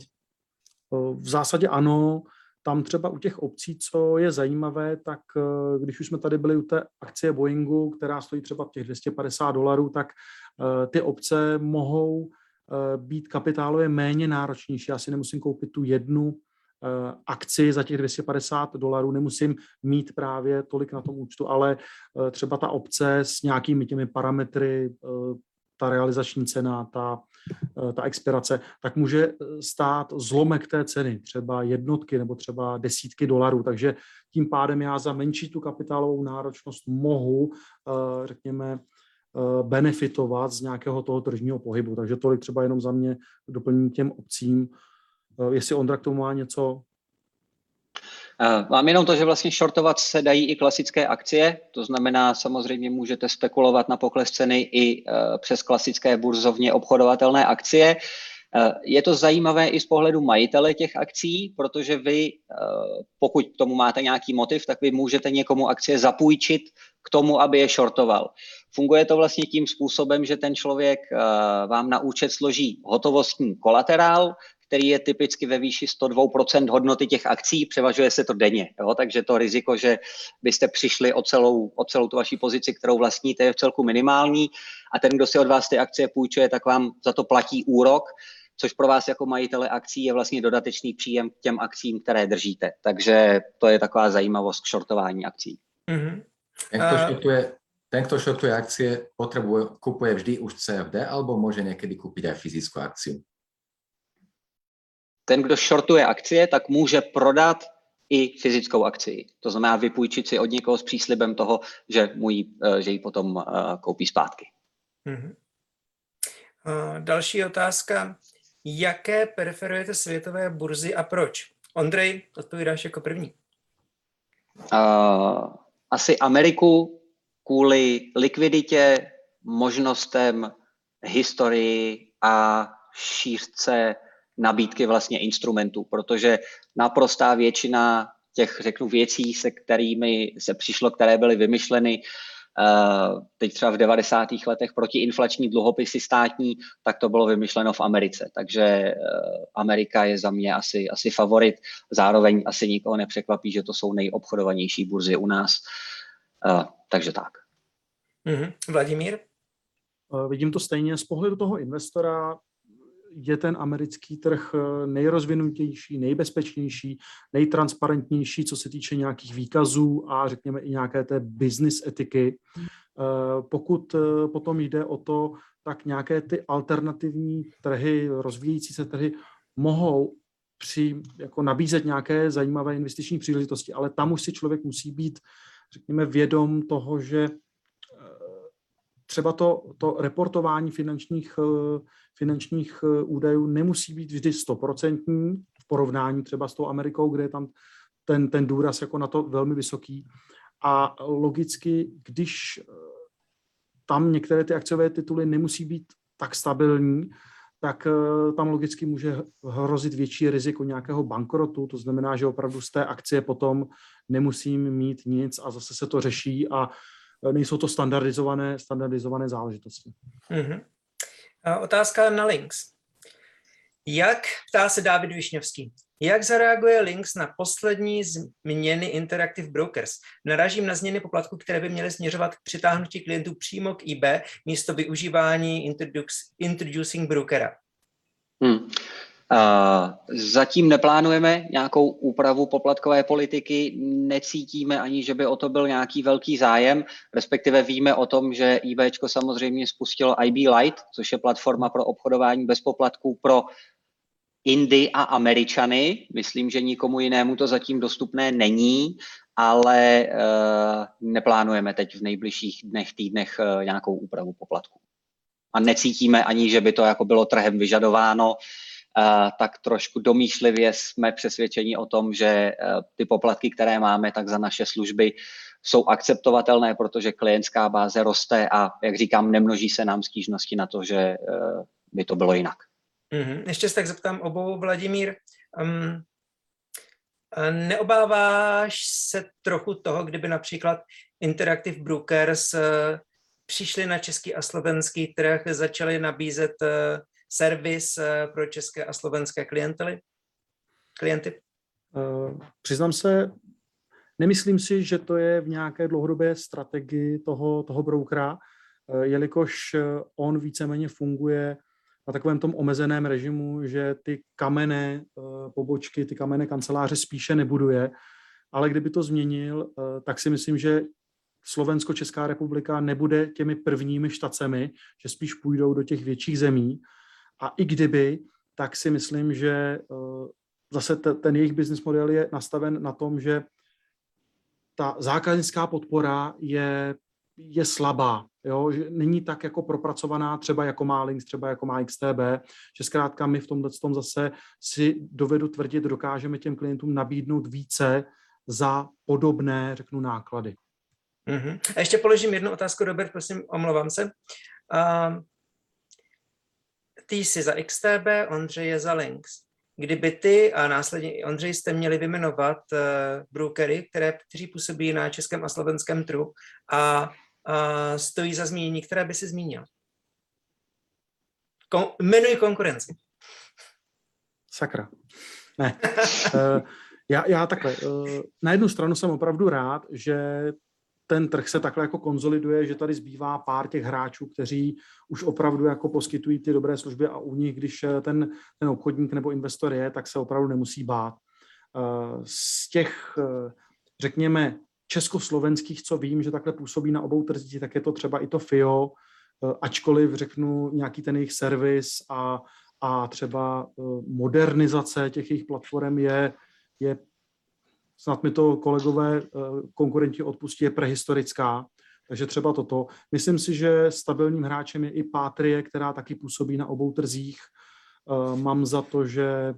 V zásadě ano. Tam třeba u těch obcí, co je zajímavé, tak když už jsme tady byli u té akcie Boeingu, která stojí třeba těch dvě stě padesát dolarů, tak ty obce mohou být kapitálově méně náročnější. Já si nemusím koupit tu jednu akci za těch dvě stě padesát dolarů, nemusím mít právě tolik na tom účtu, ale třeba ta obce s nějakými těmi parametry, ta realizační cena, ta, ta expirace, tak může stát zlomek té ceny, třeba jednotky nebo třeba desítky dolarů. Takže tím pádem já za menší tu kapitálovou náročnost mohu, řekněme, benefitovat z nějakého toho tržního pohybu. Takže tolik třeba jenom za mě doplním těm obcím. Jestli Ondra k tomu má něco? Mám jenom to, že vlastně shortovat se dají i klasické akcie, to znamená samozřejmě můžete spekulovat na pokles ceny i přes klasické burzovně obchodovatelné akcie. Je to zajímavé i z pohledu majitele těch akcí, protože vy, pokud k tomu máte nějaký motiv, tak vy můžete někomu akcie zapůjčit k tomu, aby je shortoval. Funguje to vlastně tím způsobem, že ten člověk vám na účet složí hotovostní kolaterál, který je typicky ve výši sto dva procent hodnoty těch akcí, převažuje se to denně. Jo? Takže to riziko, že byste přišli o celou, o celou tu vaši pozici, kterou vlastníte, je v celku minimální a ten, kdo si od vás ty akcie půjčuje, tak vám za to platí úrok, což pro vás jako majitele akcí je vlastně dodatečný příjem k těm akcím, které držíte. Takže to je taková zajímavost k shortování akcí. Mm-hmm. Ten, kto shortuje, ten, kto shortuje akcie, potrebuje, kupuje vždy už C F D alebo môže niekedy kúpiť aj fyzickú akciu? Ten, kdo shortuje akcie, tak může prodat i fyzickou akcii. To znamená vypůjčit si od někoho s příslibem toho, že, mu ji, že ji potom uh, koupí zpátky. Mm-hmm. Uh, další otázka. Jaké preferujete světové burzy a proč? Ondrej, odpovídáš jako první. Uh, asi Ameriku kvůli likviditě, možnostem, historii a šířce nabídky vlastně instrumentů, protože naprostá většina těch, řeknu, věcí, se kterými se přišlo, které byly vymyšleny uh, teď třeba v devadesátých letech protiinflační dluhopisy státní, tak to bylo vymyšleno v Americe. Takže uh, Amerika je za mě asi, asi favorit. Zároveň asi nikoho nepřekvapí, že to jsou nejobchodovanější burzy u nás. Uh, takže tak. Mm-hmm. Vladimír? Uh, vidím to stejně. Z pohledu toho investora je ten americký trh nejrozvinutější, nejbezpečnější, nejtransparentnější, co se týče nějakých výkazů a řekněme i nějaké té business etiky. Pokud potom jde o to, tak nějaké ty alternativní trhy, rozvíjející se trhy mohou při, jako nabízet nějaké zajímavé investiční příležitosti, ale tam už si člověk musí být, řekněme, vědom toho, že třeba to, to reportování finančních, finančních údajů nemusí být vždy stoprocentní v porovnání třeba s tou Amerikou, kde je tam ten, ten důraz jako na to velmi vysoký. A logicky, když tam některé ty akciové tituly nemusí být tak stabilní, tak tam logicky může hrozit větší riziko nějakého bankrotu, to znamená, že opravdu z té akcie potom nemusím mít nic a zase se to řeší a nejsou to standardizované, standardizované záležitosti. Mm-hmm. A otázka na Lynx. Jak, ptá se Dávid Višňovský, jak zareaguje Lynx na poslední změny Interactive Brokers? Narážím na změny poplatků, které by měly směřovat k přitáhnutí klientů přímo k I B místo využívání Introducing Brokera. Hmm. Uh, zatím neplánujeme nějakou úpravu poplatkové politiky, necítíme ani, že by o to byl nějaký velký zájem, respektive víme o tom, že IBčko samozřejmě spustilo I B Lite, což je platforma pro obchodování bez poplatků pro Indy a Američany. Myslím, že nikomu jinému to zatím dostupné není, ale uh, neplánujeme teď v nejbližších dnech, týdnech uh, nějakou úpravu poplatků. A necítíme ani, že by to jako bylo trhem vyžadováno, uh, tak trošku domýšlivě jsme přesvědčeni o tom, že uh, ty poplatky, které máme, tak za naše služby jsou akceptovatelné, protože klientská báze roste a, jak říkám, nemnoží se nám stížnosti na to, že uh, by to bylo jinak. Mm-hmm. Ještě se tak zeptám obou, Vladimír. Um, neobáváš se trochu toho, kdyby například Interactive Brokers uh, přišli na český a slovenský trh, začali nabízet uh, servis uh, pro české a slovenské klientely? klienty? Uh, přiznám se, nemyslím si, že to je v nějaké dlouhodobé strategii toho, toho brokera, uh, jelikož on víceméně funguje na takovém tom omezeném režimu, že ty kamenné uh, pobočky, ty kamenné kanceláře spíše nebuduje, ale kdyby to změnil, uh, tak si myslím, že Slovensko, Česká republika nebude těmi prvními štacemi, že spíš půjdou do těch větších zemí. A i kdyby, tak si myslím, že uh, zase t- ten jejich business model je nastaven na tom, že ta zákaznická podpora je, je slabá. Jo? Že není tak jako propracovaná, třeba jako má Lynx, třeba jako má X T B, že zkrátka my v tomhle tom zase si dovedu tvrdit, dokážeme těm klientům nabídnout více za podobné, řeknu, náklady. Mm-hmm. A ještě položím jednu otázku, Robert, prosím, omlouvám se. Uh, ty jsi za X T B, Ondřej je za Lynx. Kdyby ty a následně i Ondřej jste měli vyjmenovat uh, brokery, které, kteří působí na českém a slovenském trhu a uh, stojí za zmínění, které by si zmínil? Kon- jmenuji konkurenci. Sakra. Ne. uh, já, já takhle. Uh, na jednu stranu jsem opravdu rád, že ten trh se takhle jako konzoliduje, že tady zbývá pár těch hráčů, kteří už opravdu jako poskytují ty dobré služby a u nich, když ten, ten obchodník nebo investor je, tak se opravdu nemusí bát. Z těch, řekněme, československých, co vím, že takhle působí na obou trzích, tak je to třeba i to F I O, ačkoliv řeknu nějaký ten jejich servis a, a třeba modernizace těch jejich platform je, je snad mi to kolegové konkurenti odpustí, je prehistorická, takže třeba toto. Myslím si, že stabilním hráčem je i Patrie, která taky působí na obou trzích. Mám za to, že,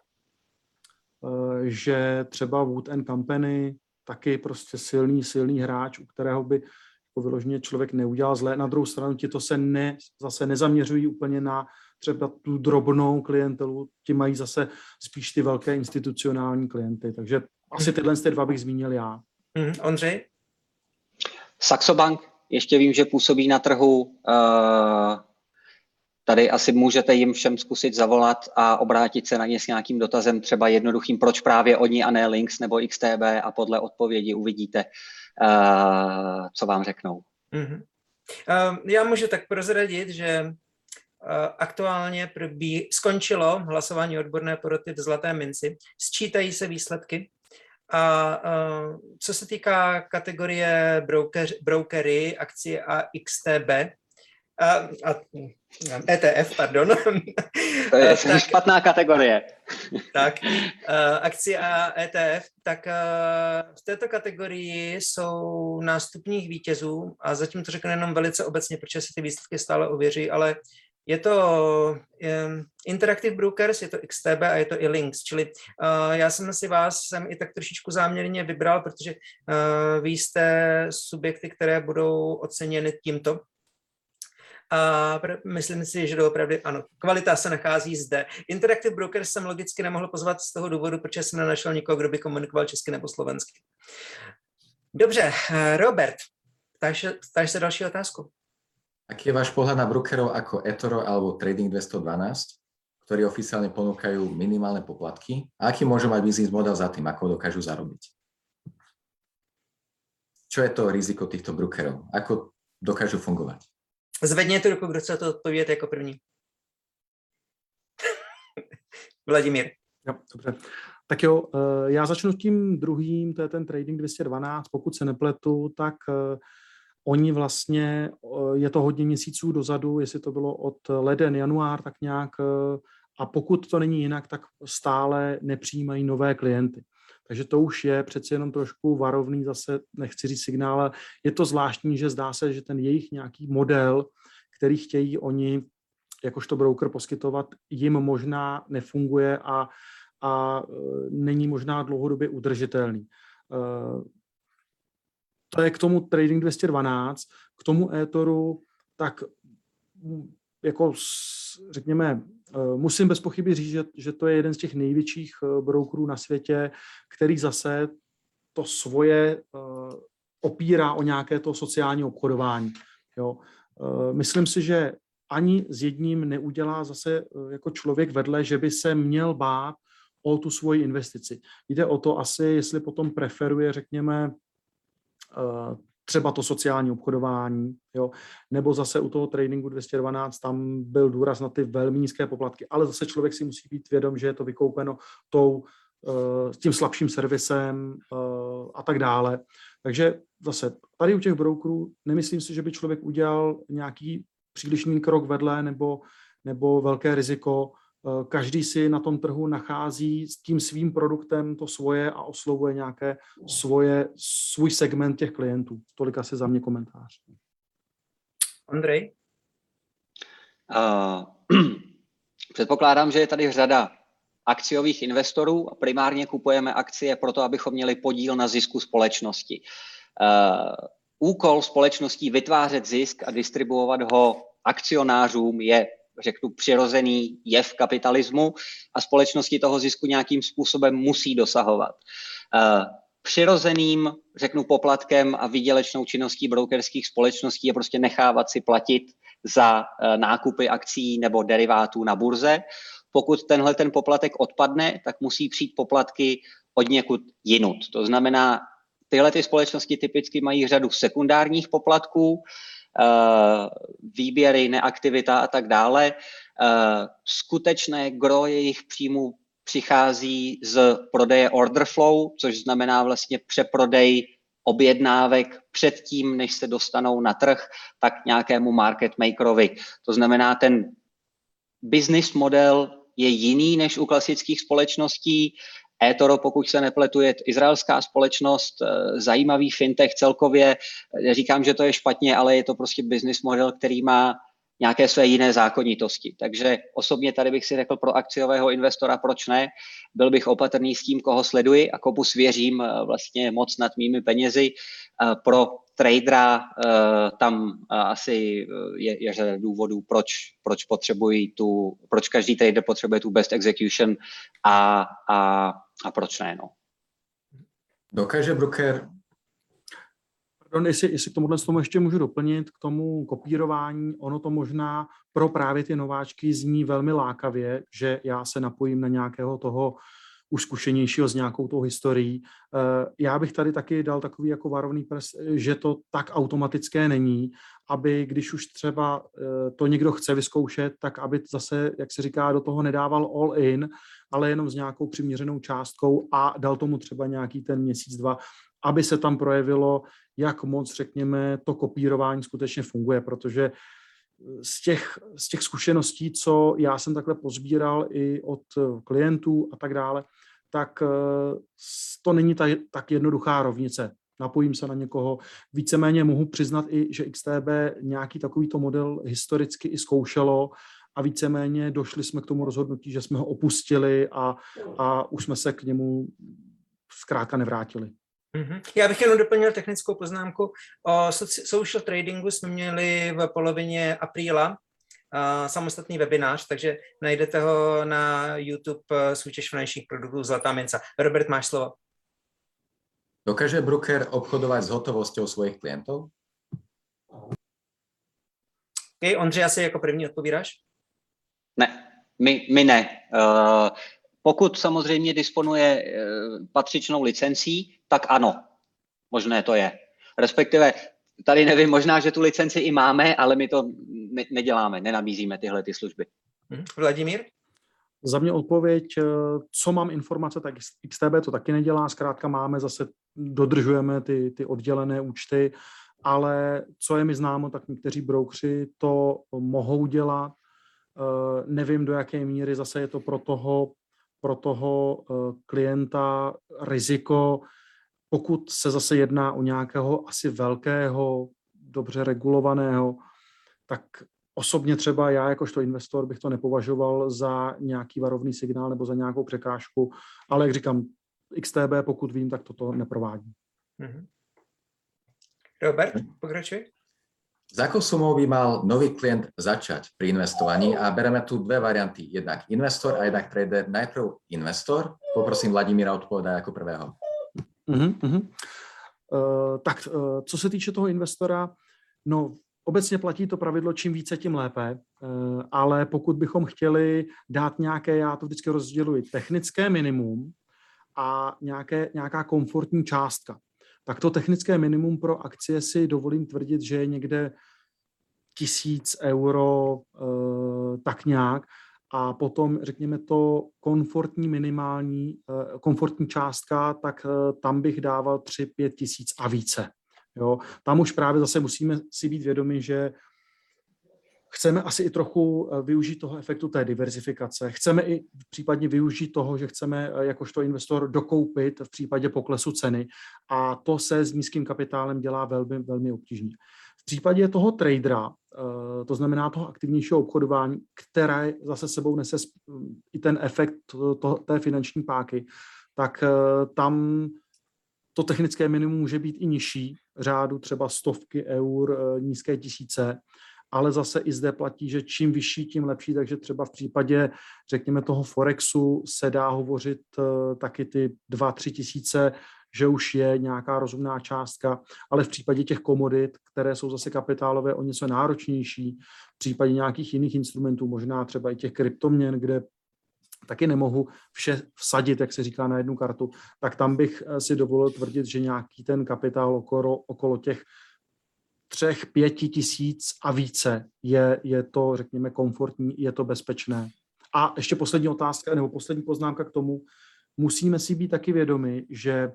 že třeba Wood and Company taky prostě silný, silný hráč, u kterého by jako vyloženě člověk neudělal zlé. Na druhou stranu ti to se ne, zase nezaměřují úplně na třeba tu drobnou klientelu, ti mají zase spíš ty velké institucionální klienty, takže asi tyhle ty dva bych zmínil já. Mm, Ondřej? Saxo Bank, ještě vím, že působí na trhu. Uh, tady asi můžete jim všem zkusit zavolat a obrátit se na ně s nějakým dotazem, třeba jednoduchým, proč právě oni a ne Lynx nebo X T B, a podle odpovědi uvidíte, uh, co vám řeknou. Mm-hmm. Uh, já můžu tak prozradit, že uh, aktuálně probí, skončilo hlasování odborné poroty v Zlaté minci, sčítají se výsledky. A uh, co se týká kategorie broker, brokery, akcie a X T B, a, a E T F, pardon. To je tak, špatná kategorie. Tak, uh, akcie a E T F, tak uh, v této kategorii jsou nástupních vítězů a zatím to řeknu jenom velice obecně, protože se ty výsledky stále ověří, ale je to um, Interactive Brokers, je to X T B a je to i Lynx, čili uh, já jsem si vás sem i tak trošičku záměrně vybral, protože uh, vy jste subjekty, které budou oceněny tímto. A myslím si, že doopravdy ano, kvalita se nachází zde. Interactive Brokers jsem logicky nemohl pozvat z toho důvodu, protože jsem nenašel nikoho, kdo by komunikoval česky nebo slovensky. Dobře, Robert, ptáš se další otázku. Aký je váš pohľad na brokerov ako eToro alebo Trading dvestodvanásť, ktorí oficiálne ponúkajú minimálne poplatky? A aký môže mať biznis model za tým, ako dokážu zarobiť? Čo je to riziko týchto brokerov? Ako dokážu fungovať? Zvedněte ruku, kdo chce to odpovědět jako první. Vladimír. Jo, dobře. Tak jo, já začnu tím druhým, to je ten Trading dvě stě dvanáct. Pokud se nepletu, tak oni vlastně, je to hodně měsíců dozadu, jestli to bylo od leden, január, tak nějak, a pokud to není jinak, tak stále nepřijímají nové klienty. Takže to už je přeci jenom trošku varovný, zase nechci říct signál, ale je to zvláštní, že zdá se, že ten jejich nějaký model, který chtějí oni jakožto broker poskytovat, jim možná nefunguje a, a není možná dlouhodobě udržitelný. To je k tomu Trading dvě stě dvanáct, k tomu eToru, tak jako řekněme, musím bez pochyby říct, že, že to je jeden z těch největších brokerů na světě, který zase to svoje opírá o nějaké to sociální obchodování. Jo. Myslím si, že ani s jedním neudělá zase jako člověk vedle, že by se měl bát o tu svoji investici. Jde o to asi, jestli potom preferuje, řekněme, třeba to sociální obchodování, jo, nebo zase u toho Tradingu dvě stě dvanáct tam byl důraz na ty velmi nízké poplatky, ale zase člověk si musí být vědom, že je to vykoupeno tou, uh, tím slabším servisem uh, a tak dále. Takže zase tady u těch brokerů nemyslím si, že by člověk udělal nějaký přílišný krok vedle nebo, nebo velké riziko. Každý si na tom trhu nachází s tím svým produktem to svoje a oslovuje nějaké svoje, svůj segment těch klientů. Tolik asi za mě komentář. Ondrej? Uh, předpokládám, že je tady řada akciových investorů a primárně kupujeme akcie proto, abychom měli podíl na zisku společnosti. Uh, úkol společností vytvářet zisk a distribuovat ho akcionářům je, řeknu, přirozený jev kapitalismu a společnosti toho zisku nějakým způsobem musí dosahovat. Přirozeným, řeknu, poplatkem a výdělečnou činností brokerských společností je prostě nechávat si platit za nákupy akcií nebo derivátů na burze. Pokud tenhle ten poplatek odpadne, tak musí přijít poplatky od někud jinut. To znamená, tyhle ty společnosti typicky mají řadu sekundárních poplatků, výběry, neaktivita a tak dále. Skutečné gro jejich příjmů přichází z prodeje order flow, což znamená vlastně přeprodej objednávek předtím, než se dostanou na trh, tak nějakému market makerovi. To znamená, ten business model je jiný než u klasických společností. eToro, pokud se nepletu, je izraelská společnost, zajímavý fintech celkově. Říkám, že to je špatně, ale je to prostě business model, který má nějaké své jiné zákonitosti. Takže osobně tady bych si řekl pro akciového investora, proč ne. Byl bych opatrný s tím, koho sleduji a komu svěřím vlastně moc nad mými penězi. Pro tradera tam asi je, je řada důvodů, proč, proč potřebují tu, proč každý trader potřebuje tu best execution a, a, a proč ne, no. Dokáže broker... Pardon, jestli, jestli k tomuhle tomu ještě můžu doplnit, k tomu kopírování, ono to možná pro právě ty nováčky zní velmi lákavě, že já se napojím na nějakého toho už zkušenějšího s nějakou tou historií. Já bych tady taky dal takový jako varovný prst, že to tak automatické není, aby když už třeba to někdo chce vyzkoušet, tak aby zase, jak se říká, do toho nedával all in, ale jenom s nějakou přiměřenou částkou a dal tomu třeba nějaký ten měsíc, dva, aby se tam projevilo, jak moc, řekněme, to kopírování skutečně funguje, protože z těch, z těch zkušeností, co já jsem takhle pozbíral i od klientů a tak dále, tak to není ta, tak jednoduchá rovnice. Napojím se na někoho. Víceméně mohu přiznat i, že X T B nějaký takovýto model historicky i zkoušelo a víceméně došli jsme k tomu rozhodnutí, že jsme ho opustili a, a už jsme se k němu zkrátka nevrátili. Mm-hmm. Já bych jenom doplnil technickou poznámku. O social tradingu jsme měli v polovině apríla uh, samostatný webinář, takže najdete ho na YouTube uh, Soutěž finančních produktů Zlatá minca. Robert, máš slovo. Dokáže broker obchodovať s hotovosťou svojich klientov? Okay, Ondřej, asi jako první odpovídáš? Ne, my, my ne. Uh, pokud samozřejmě disponuje uh, patřičnou licencí, tak ano, možné to je. Respektive, tady nevím, možná, že tu licenci i máme, ale my to ne- neděláme, nenabízíme tyhle ty služby. Hmm. Vladimír? Za mě odpověď, co mám informace, tak X T B to taky nedělá, zkrátka máme, zase dodržujeme ty, ty oddělené účty, ale co je mi známo, tak někteří broukři to mohou dělat. Nevím, do jaké míry zase je to pro toho, pro toho klienta riziko, pokud se zase jedná o nějakého asi velkého, dobře regulovaného, tak osobně třeba já jakožto investor bych to nepovažoval za nějaký varovný signál nebo za nějakou překážku, ale jak říkám, X T B, pokud vím, tak toto neprovádí. Mm-hmm. Robert, pokračuj. S akou sumou by mal nový klient začať pri investovaní? A bereme tu dve varianty. Jednak investor a jednak trader. Najprv investor. Poprosím Vladimíra odpovedať ako prvého. Uh-huh, uh-huh. Uh, tak uh, co se týče toho investora, no obecně platí to pravidlo, čím více, tím lépe, uh, ale pokud bychom chtěli dát nějaké, já to vždycky rozděluji, technické minimum a nějaké, nějaká komfortní částka, tak to technické minimum pro akcie si dovolím tvrdit, že je někde tisíc euro, uh, tak nějak, a potom, řekněme to, komfortní minimální, komfortní částka, tak tam bych dával tři pět tisíc a více. Jo? Tam už právě zase musíme si být vědomi, že chceme asi i trochu využít toho efektu té diverzifikace. Chceme i případně využít toho, že chceme jakožto investor dokoupit v případě poklesu ceny a to se s nízkým kapitálem dělá velmi, velmi obtížně. V případě toho tradera, to znamená toho aktivnějšího obchodování, které zase sebou nese i ten efekt to, té finanční páky, tak tam to technické minimum může být i nižší, řádu třeba stovky eur, nízké tisíce, ale zase i zde platí, že čím vyšší, tím lepší, takže třeba v případě, řekněme, toho Forexu se dá hovořit taky ty dva, tři tisíce, že už je nějaká rozumná částka, ale v případě těch komodit, které jsou zase kapitálové o něco náročnější, v případě nějakých jiných instrumentů, možná třeba i těch kryptoměn, kde taky nemohu vše vsadit, jak se říká, na jednu kartu, tak tam bych si dovolil tvrdit, že nějaký ten kapitál okolo, okolo těch třech, pěti tisíc a více je, je to, řekněme, komfortní, je to bezpečné. A ještě poslední otázka, nebo poslední poznámka k tomu, musíme si být taky vědomi, že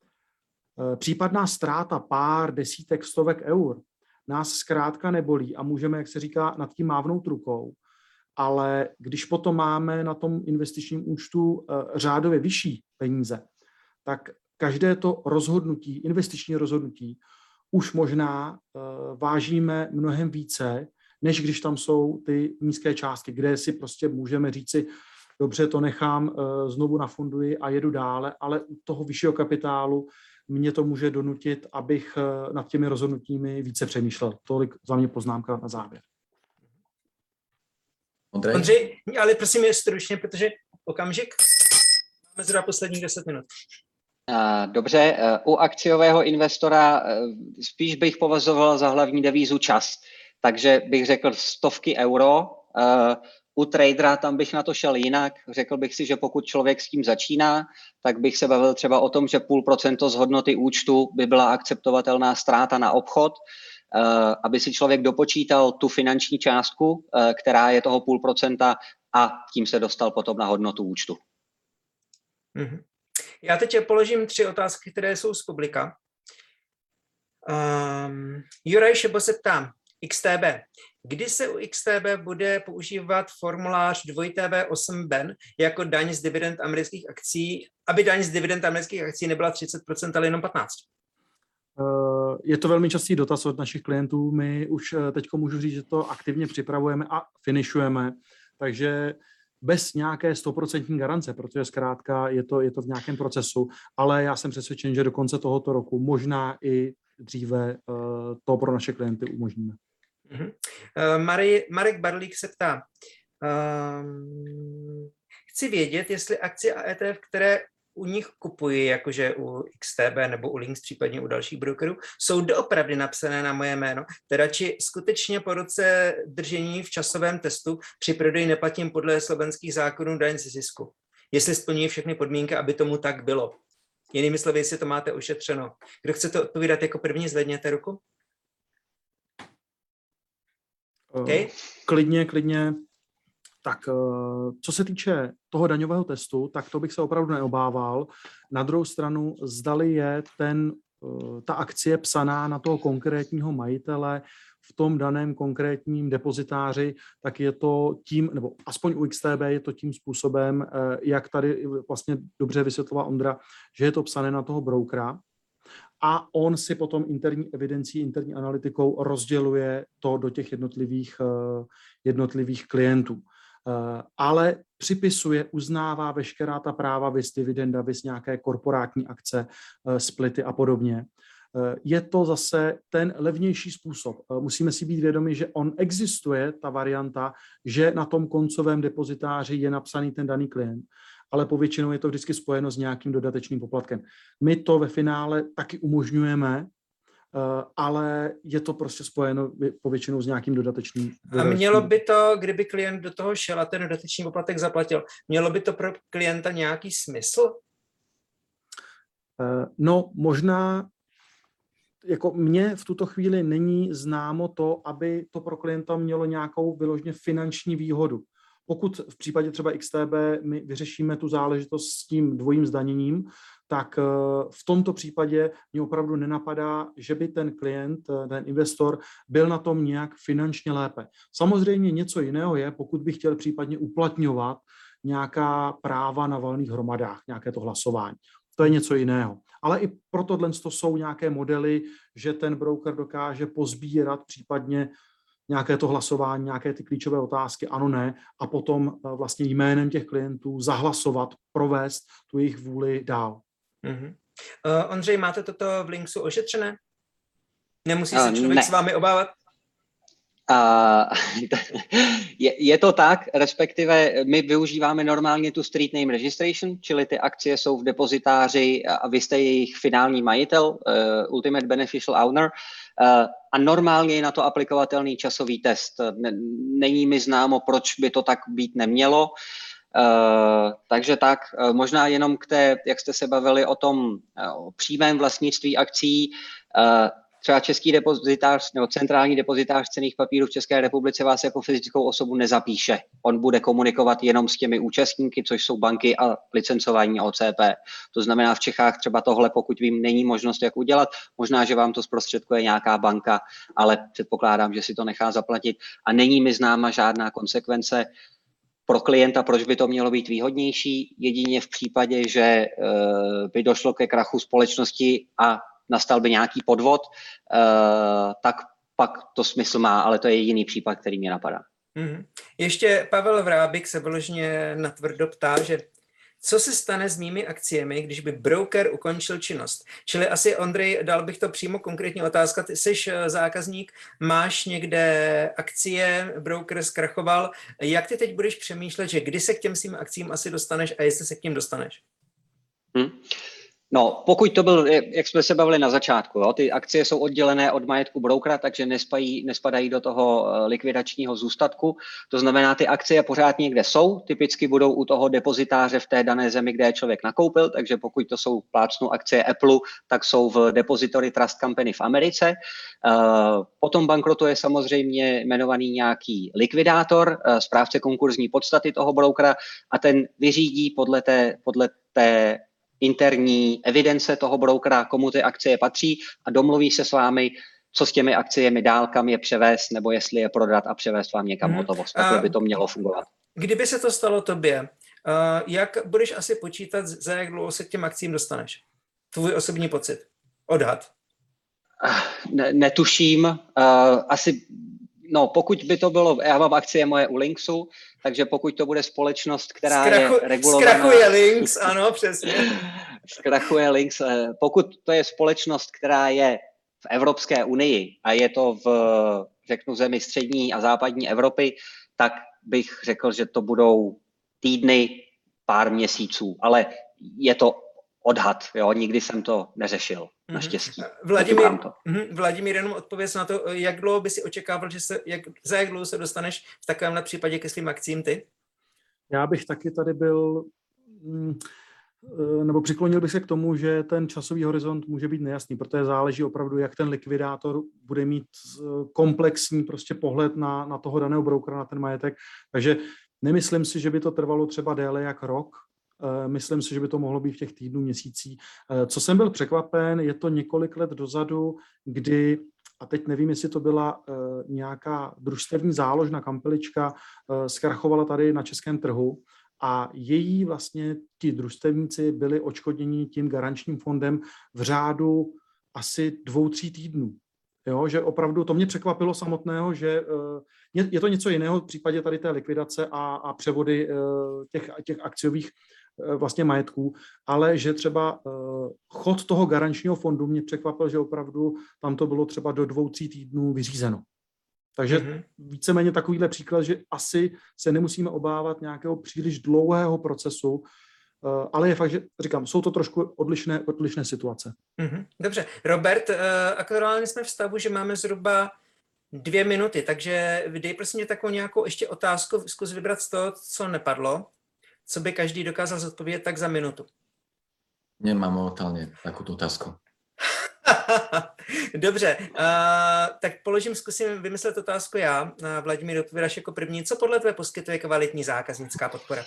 případná ztráta pár desítek, stovek eur nás zkrátka nebolí a můžeme, jak se říká, nad tím mávnout rukou. Ale když potom máme na tom investičním účtu řádově vyšší peníze, tak každé to rozhodnutí, investiční rozhodnutí, už možná vážíme mnohem více, než když tam jsou ty nízké částky, kde si prostě můžeme říci, dobře, to nechám, znovu nafunduji a jedu dále, ale u toho vyššího kapitálu mě to může donutit, abych nad těmi rozhodnutími více přemýšlel. Tolik za mě poznámka na závěr. Ondřej? Ondřej, ale prosím je stručně, protože okamžik, máme zhruba posledních deset minut. Dobře, u akciového investora spíš bych považoval za hlavní devízu čas, takže bych řekl stovky euro. U tradera tam bych na to šel jinak. Řekl bych si, že pokud člověk s tím začíná, tak bych se bavil třeba o tom, že půl procento z hodnoty účtu by byla akceptovatelná ztráta na obchod, aby si člověk dopočítal tu finanční částku, která je toho půl procenta a tím se dostal potom na hodnotu účtu. Mm-hmm. Já teď položím tři otázky, které jsou z publika. Um, Juraj Šebo se ptá, X T B. Kdy se u X T B bude používat formulář dva T V osm B E N jako daň z dividend amerických akcí, aby daň z dividend amerických akcí nebyla třicet procent, ale jenom patnáct procent? Je to velmi častý dotaz od našich klientů. My už teď můžu říct, že to aktivně připravujeme a finišujeme. Takže bez nějaké stoprocentní garance, protože zkrátka je to, je to v nějakém procesu, ale já jsem přesvědčen, že do konce tohoto roku, možná i dříve, to pro naše klienty umožníme. Uh-huh. Uh, Mari, Marek Barlík se ptá, um, chci vědět, jestli akcie a E T F, které u nich kupuji, jakože u X T B nebo u Lynx, případně u dalších brokerů, jsou doopravdy napsané na moje jméno, teda či skutečně po roce držení v časovém testu při prodeji neplatím podle slovenských zákonů daň ze zisku. Jestli splňují všechny podmínky, aby tomu tak bylo. Jinými slovy, jestli to máte ošetřeno. Kdo chcete odpovídat jako první, zvedněte ruku. Okay. Klidně, klidně. Tak co se týče toho daňového testu, tak to bych se opravdu neobával. Na druhou stranu, zdali je ten, ta akcie psaná na toho konkrétního majitele v tom daném konkrétním depozitáři, tak je to tím, nebo aspoň u X T B je to tím způsobem, jak tady vlastně dobře vysvětloval Ondra, že je to psané na toho brokera a on si potom interní evidencí, interní analytikou rozděluje to do těch jednotlivých, jednotlivých klientů. Ale připisuje, uznává veškerá ta práva, vys dividenda, vys nějaké korporátní akce, splity a podobně. Je to zase ten levnější způsob. Musíme si být vědomi, že on existuje, ta varianta, že na tom koncovém depozitáři je napsaný ten daný klient, ale povětšinou je to vždycky spojeno s nějakým dodatečným poplatkem. My to ve finále taky umožňujeme, ale je to prostě spojeno povětšinou s nějakým dodatečným. A mělo by to, kdyby klient do toho šel a ten dodatečný poplatek zaplatil, mělo by to pro klienta nějaký smysl? No, možná jako mně v tuto chvíli není známo to, aby to pro klienta mělo nějakou vyloženě finanční výhodu. Pokud v případě třeba X T B my vyřešíme tu záležitost s tím dvojím zdaněním, tak v tomto případě mě opravdu nenapadá, že by ten klient, ten investor byl na tom nějak finančně lépe. Samozřejmě něco jiného je, pokud by chtěl případně uplatňovat nějaká práva na valných hromadách, nějaké to hlasování. To je něco jiného. Ale i pro tohle to jsou nějaké modely, že ten broker dokáže pozbírat případně nějaké to hlasování, nějaké ty klíčové otázky, ano, ne, a potom vlastně jménem těch klientů zahlasovat, provést tu jejich vůli dál. Mm-hmm. Uh, Ondřej, máte toto v Lynxu ošetřené? Nemusí se člověk ne. s vámi obávat? Uh, je, je to tak, respektive my využíváme normálně tu street name registration, čili ty akcie jsou v depozitáři a vy jste jejich finální majitel, uh, ultimate beneficial owner, uh, a normálně je na to aplikovatelný časový test. Není mi známo, proč by to tak být nemělo. Uh, takže tak, uh, možná jenom k té, jak jste se bavili o tom uh, přímém vlastnictví akcí, uh, třeba český depozitář nebo centrální depozitář cenných papírů v České republice vás jako fyzickou osobu nezapíše. On bude komunikovat jenom s těmi účastníky, což jsou banky a licencování O C P. To znamená v Čechách třeba tohle, pokud vím, není možnost jak udělat. Možná, že vám to zprostředkuje nějaká banka, ale předpokládám, že si to nechá zaplatit. A není mi známa žádná konsekvence pro klienta, proč by to mělo být výhodnější. Jedině v případě, že uh, by došlo ke krachu společnosti a nastal by nějaký podvod, uh, tak pak to smysl má, ale to je jediný případ, který mě napadá. Mm-hmm. Ještě Pavel Vrábik se vyloženě natvrdo ptá, že co se stane s mými akciemi, když by broker ukončil činnost? Čili asi, Ondrej, dal bych to přímo konkrétní otázka. Ty jsi zákazník, máš někde akcie, broker zkrachoval. Jak ty teď budeš přemýšlet, že kdy se k těm svým akcím asi dostaneš a jestli se k těm dostaneš? Hmm. No, pokud to byl, jak jsme se bavili na začátku, jo, ty akcie jsou oddělené od majetku brokera, takže nespají, nespadají do toho likvidačního zůstatku. To znamená, ty akcie pořád někde jsou, typicky budou u toho depozitáře v té dané zemi, kde je člověk nakoupil, takže pokud to jsou plácnu akcie Apple, tak jsou v Depository Trust Company v Americe. Potom bankrotuje samozřejmě jmenovaný nějaký likvidátor, správce konkurzní podstaty toho brokera a ten vyřídí podle té, podle té interní evidence toho brokera, komu ty akcie patří a domluví se s vámi, co s těmi akciemi dál, kam je převést, nebo jestli je prodat a převést vám někam hmm. hotovost. Takhle by to mělo fungovat. Kdyby se to stalo tobě, jak budeš asi počítat, za jak dlouho se k těm akcím dostaneš? Tvůj osobní pocit? Odhad? Ne, netuším. Asi No, pokud by to bylo, já mám akcie moje u Linksu, takže pokud to bude společnost, která Zkrachu, je regulovaná... Zkrachuje Links, ano, přesně. Zkrachuje Links. Pokud to je společnost, která je v Evropské unii a je to v, řeknu, zemi střední a západní Evropy, tak bych řekl, že to budou týdny, pár měsíců, ale je to odhad, jo, nikdy jsem to neřešil, mm-hmm. naštěstí. Vladimír, mm, Vladimír, jenom odpověz na to, jak dlouho by si očekával, že se, jak, za jak dlouho se dostaneš v takovémhle případě ke svým akcím ty? Já bych taky tady byl, nebo přiklonil bych se k tomu, že ten časový horizont může být nejasný, protože záleží opravdu, jak ten likvidátor bude mít komplexní prostě pohled na, na toho daného brokera, na ten majetek. Takže nemyslím si, že by to trvalo třeba déle jak rok. Myslím si, že by to mohlo být v těch týdnů, měsících. Co jsem byl překvapen, je to několik let dozadu, kdy, a teď nevím, jestli to byla nějaká družstevní záložna kampelička, zkrachovala tady na českém trhu a její vlastně ti družstevníci byli odškodněni tím garančním fondem v řádu asi dvou, tří týdnů. Jo, že opravdu to mě překvapilo samotného, že je, je to něco jiného v případě tady té likvidace a, a převody těch, těch akciových vlastně majetků, ale že třeba chod toho garančního fondu mě překvapil, že opravdu tam to bylo třeba do dvou, tří týdnů vyřízeno. Takže mm-hmm. víceméně takovýhle příklad, že asi se nemusíme obávat nějakého příliš dlouhého procesu, ale je fakt, že říkám, jsou to trošku odlišné, odlišné situace. Mm-hmm. Dobře. Robert, aktuálně jsme v stavu, že máme zhruba dvě minuty, takže dej prosím mě takovou nějakou ještě otázku, zkus vybrat z toho, co nepadlo, co by každý dokázal zodpovědět tak za minutu. Nemám momentálně takovou otázku. Dobře, uh, tak položím, zkusím vymyslet otázku já. Uh, Vladimír, odpovídáš jako první. Co podle tebe poskytuje kvalitní zákaznická podpora?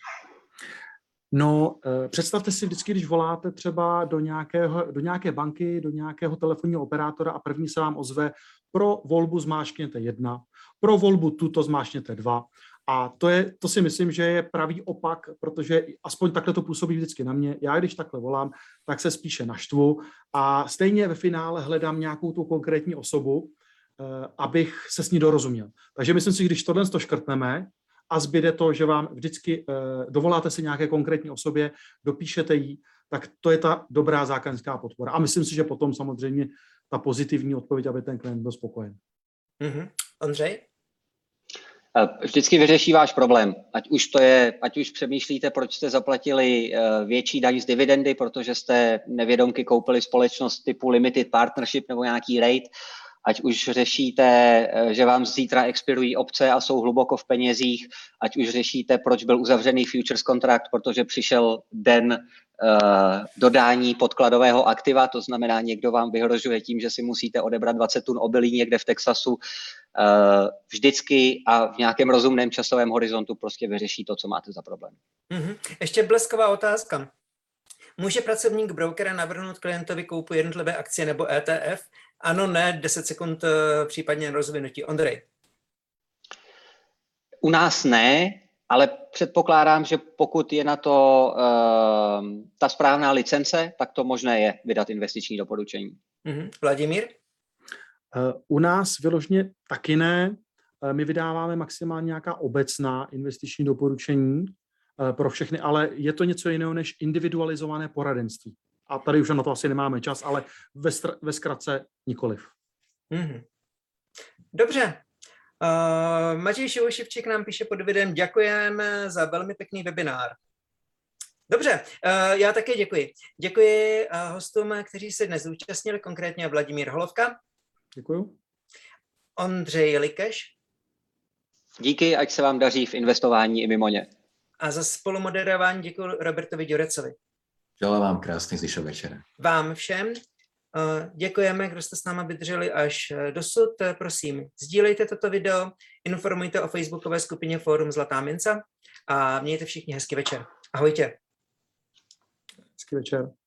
No, představte si vždycky, když voláte třeba do, nějakého, do nějaké banky, do nějakého telefonního operátora a první se vám ozve: pro volbu zmáčkněte jedna, pro volbu tuto zmáčkněte dva. A to, je, to si myslím, že je pravý opak, protože aspoň takhle to působí vždycky na mě. Já když takhle volám, tak se spíše naštvu a stejně ve finále hledám nějakou tu konkrétní osobu, abych se s ní dorozuměl. Takže myslím si, když tohle to škrtneme, a zbyde to, že vám vždycky eh, dovoláte si nějaké konkrétní osobě, dopíšete jí, tak to je ta dobrá zákaznická podpora. A myslím si, že potom samozřejmě ta pozitivní odpověď, aby ten klient byl spokojen. Mm-hmm. Ondřej? Vždycky vyřeší váš problém. Ať už to je, ať už přemýšlíte, proč jste zaplatili větší daň z dividendy, protože jste nevědomky koupili společnost typu limited partnership nebo nějaký rate, ať už řešíte, že vám zítra expirují opce a jsou hluboko v penězích, ať už řešíte, proč byl uzavřený futures kontrakt, protože přišel den uh, dodání podkladového aktiva, to znamená, někdo vám vyhrožuje tím, že si musíte odebrat dvacet tun obilí někde v Texasu, uh, vždycky a v nějakém rozumném časovém horizontu prostě vyřeší to, co máte za problém. Mm-hmm. Ještě blesková otázka. Může pracovník brokera navrhnout klientovi koupu jednotlivé akcie nebo E T F? Ano, ne, deset sekund případně rozvinutí. Ondrej. U nás ne, ale předpokládám, že pokud je na to uh, ta správná licence, tak to možné je vydat investiční doporučení. Mm-hmm. Vladimír? Uh, u nás vyloženě taky ne. Uh, my vydáváme maximálně nějaká obecná investiční doporučení uh, pro všechny, ale je to něco jiného než individualizované poradenství. A tady už na to asi nemáme čas, ale ve, str- ve zkratce nikoliv. Mm-hmm. Dobře. Uh, Matěj Šivošivčík nám píše pod videem: děkujeme za velmi pěkný webinár. Dobře, uh, já také děkuji. Děkuji uh, hostům, kteří se dnes zúčastnili, konkrétně Vladimír Holovka. Děkuju. Ondřej Likeš. Díky, ať se vám daří v investování i mimo ně. A za spolumoderování děkuji Robertovi Ďurecovi. Želám vám krásný zvyšok večera. Vám všem děkujeme, kdo jste s náma vydrželi až dosud. Prosím, sdílejte toto video, informujte o facebookové skupině Fórum Zlatá mince a mějte všichni hezký večer. Ahojtě. Hezký večer.